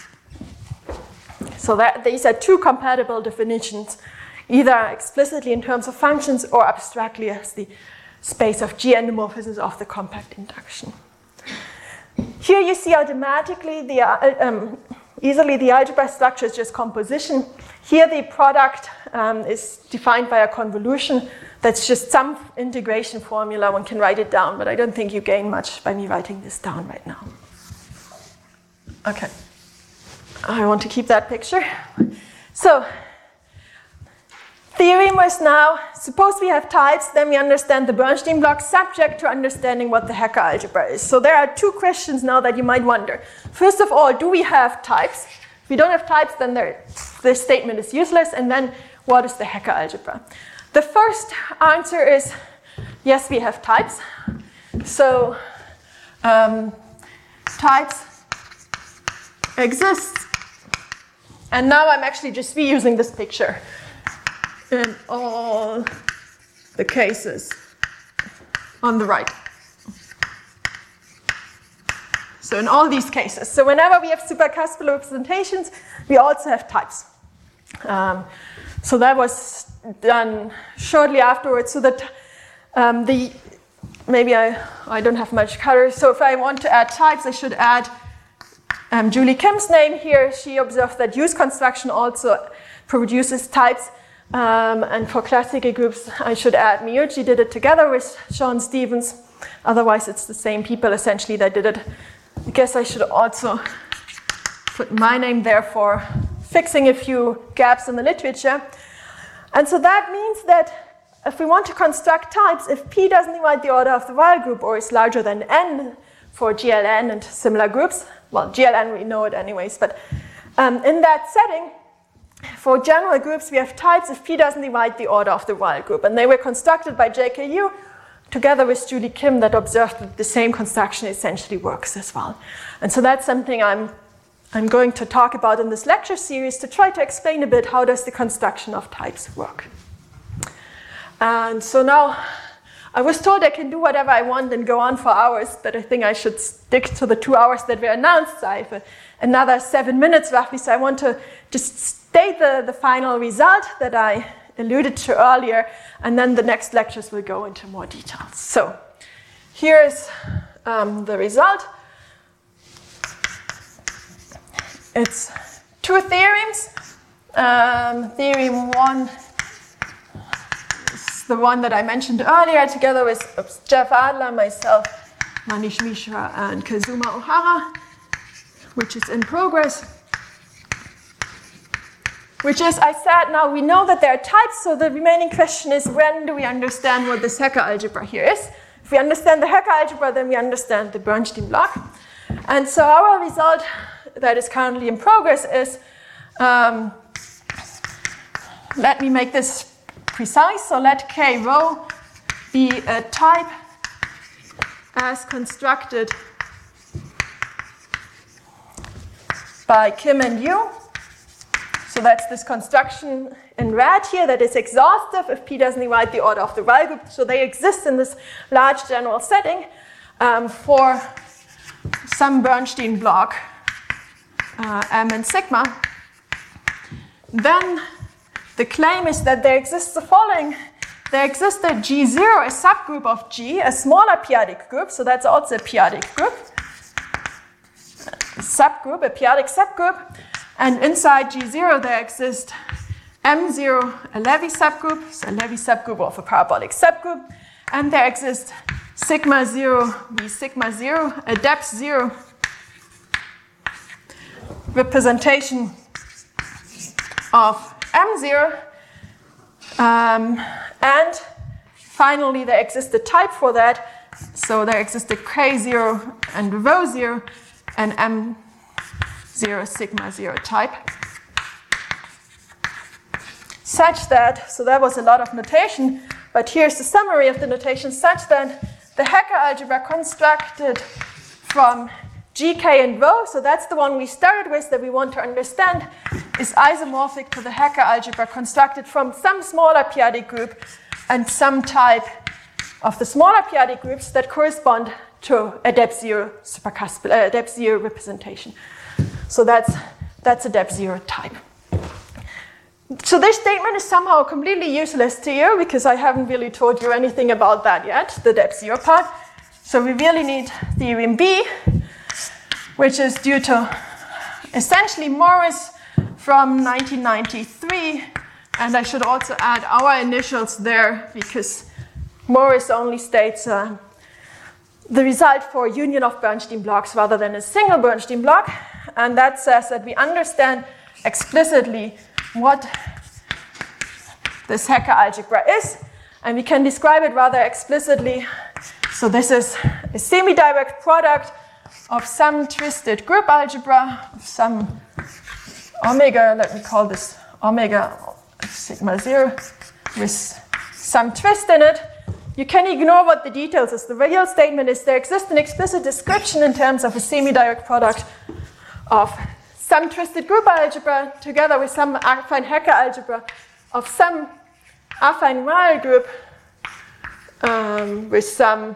So these are two compatible definitions, either explicitly in terms of functions or abstractly as the space of G endomorphisms of the compact induction. Here you see automatically easily the algebra structure is just composition. Here the product is defined by a convolution. That's just some integration formula. One can write it down, but I don't think you gain much by me writing this down right now. Okay. I want to keep that picture. So, theorem was now, suppose we have types, then we understand the Bernstein block subject to understanding what the Hecker algebra is. So there are two questions now that you might wonder. First of all, do we have types? If we don't have types, then this statement is useless. And then, what is the Hecker algebra? The first answer is, yes, we have types. So, types exist. And now I'm actually just reusing this picture in all the cases on the right. So in all these cases. So whenever we have supercuspal representations, we also have types. So that was done shortly afterwards. So that maybe I don't have much color. So if I want to add types, I should add Julie Kim's name here. She observed that use construction also produces types. And for classical groups, I should add Miyuchi did it together with Sean Stevens. Otherwise, it's the same people essentially that did it. I guess I should also put my name there for fixing a few gaps in the literature. And so that means that if we want to construct types, if P doesn't divide the order of the Weyl group or is larger than N for GLN and similar groups, well, GLN we know it anyways, but in that setting, for general groups, we have types if P doesn't divide the order of the Weyl group. And they were constructed by JKU together with Julie Kim that observed that the same construction essentially works as well. And so that's something I'm going to talk about in this lecture series to try to explain a bit how does the construction of types work. And so now I was told I can do whatever I want and go on for hours, but I think I should stick to the 2 hours that were announced. I have another 7 minutes roughly, so I want to just state the final result that I alluded to earlier, and then the next lectures will go into more details. So here's the result. It's two theorems. Theorem one is the one that I mentioned earlier, together with Jeff Adler, myself, Manish Mishra, and Kazuma Ohara, which is in progress. which is, I said, now we know that there are types, so the remaining question is, when do we understand what this Hecker algebra here is? If we understand the Hecker algebra, then we understand the Bernstein block. And so our result that is currently in progress is, let me make this precise, so let K rho be a type as constructed by Kim and Yu. So that's this construction in red here that is exhaustive if P doesn't divide the order of the Weyl group. So they exist in this large general setting for some Bernstein block M and sigma. Then the claim is that there exists the following. There exists a G0, a subgroup of G, a smaller p-adic group, so that's also a p-adic group. A subgroup, a p-adic subgroup. And inside G0 there exists M0, a Levy subgroup, so a Levy subgroup of a parabolic subgroup. And there exists sigma 0 v sigma 0, a depth 0 representation of M0. And finally, there exists a type for that. So there exists a K0 and rho 0 and M0 sigma 0 type. Such that, so that was a lot of notation, but here's the summary of the notation, such that the Hecker algebra constructed from GK and rho, so that's the one we started with that we want to understand, is isomorphic to the Hecker algebra constructed from some smaller p-adic group and some type of the smaller p-adic groups that correspond to a depth 0 depth 0 representation. So that's a depth 0 type. So this statement is somehow completely useless to you because I haven't really told you anything about that yet, the depth 0 part. So we really need theorem B, which is due to essentially Morris from 1993. And I should also add our initials there because Morris only states the result for a union of Bernstein blocks rather than a single Bernstein block. And that says that we understand explicitly what this Hecker algebra is. And we can describe it rather explicitly. So this is a semi-direct product of some twisted group algebra, of some omega, let me call this omega sigma 0, with some twist in it. You can ignore what the details is. The real statement is there exists an explicit description in terms of a semi-direct product of some twisted group algebra together with some affine Hecker algebra of some affine Weyl group with some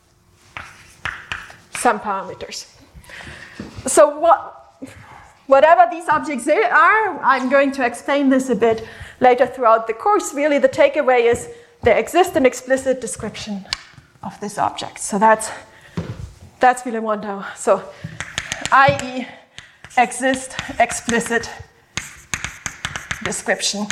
parameters. So whatever these objects are, I'm going to explain this a bit later throughout the course. Really, the takeaway is there exists an explicit description of this object. So that's really one now. So, i.e., exist explicit description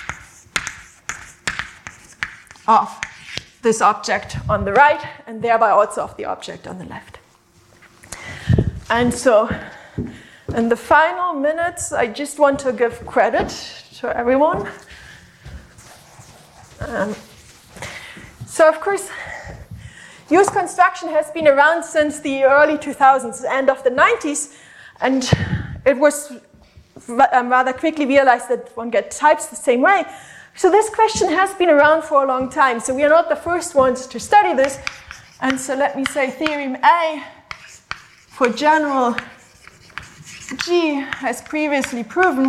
of this object on the right and thereby also of the object on the left. And so in the final minutes, I just want to give credit to everyone. So of course, use construction has been around since the early 2000s, end of the 90s, and it was rather quickly realized that one gets types the same way. So this question has been around for a long time. So we are not the first ones to study this. And so let me say theorem A for general G has previously proven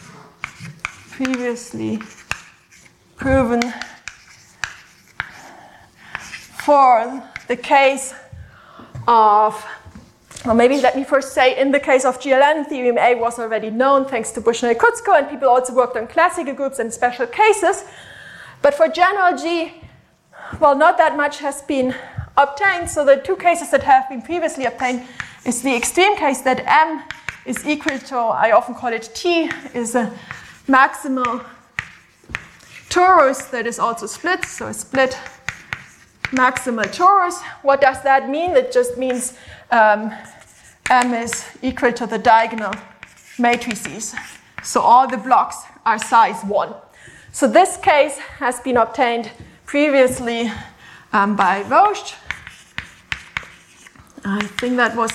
for the case of, or maybe let me first say, in the case of GLN, theorem A was already known thanks to Bushnell-Kutzko, and people also worked on classical groups and special cases. But for general G, well, not that much has been obtained. So the two cases that have been previously obtained is the extreme case that M is equal to, I often call it T, is a maximal torus that is also split, so a split maximal torus. What does that mean? It just means M is equal to the diagonal matrices So all the blocks are size 1. So this case has been obtained previously by Roche. I think that was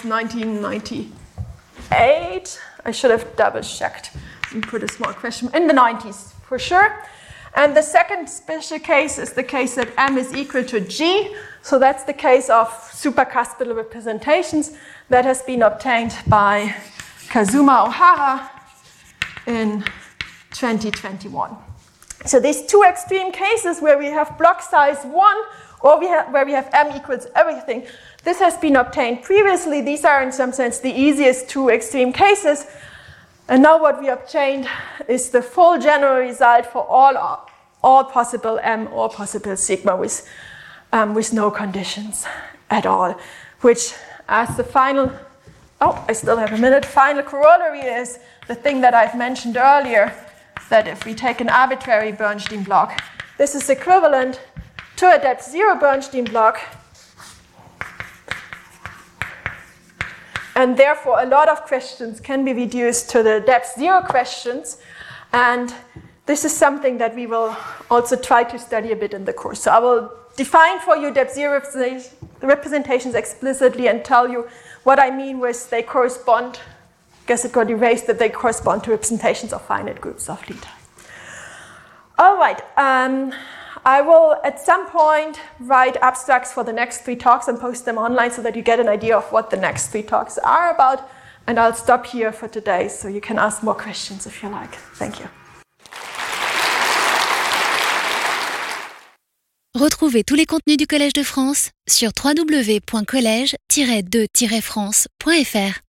1998. I should have double checked and put a small question in the 90s for sure. And the second special case is the case that M is equal to G. So that's the case of supercuspidal representations that has been obtained by Kazuma Ohara in 2021. So these two extreme cases where we have block size 1 or where we have M equals everything, this has been obtained previously. These are in some sense the easiest two extreme cases. And now what we obtained is the full general result for all possible M or possible sigma with no conditions at all, which as the final, I still have a minute, final corollary is the thing that I've mentioned earlier, that if we take an arbitrary Bernstein block, this is equivalent to a depth 0 Bernstein block. And therefore, a lot of questions can be reduced to the depth 0 questions. And this is something that we will also try to study a bit in the course. So I will define for you depth 0 representations explicitly and tell you what I mean with they correspond. I guess it got erased that they correspond to representations of finite groups of theta. All right. I will, at some point, write abstracts for the next 3 talks and post them online so that you get an idea of what the next 3 talks are about. And I'll stop here for today, so you can ask more questions if you like. Thank you. Retrouvez tous les contenus du Collège de France sur www.collège-2-france.fr.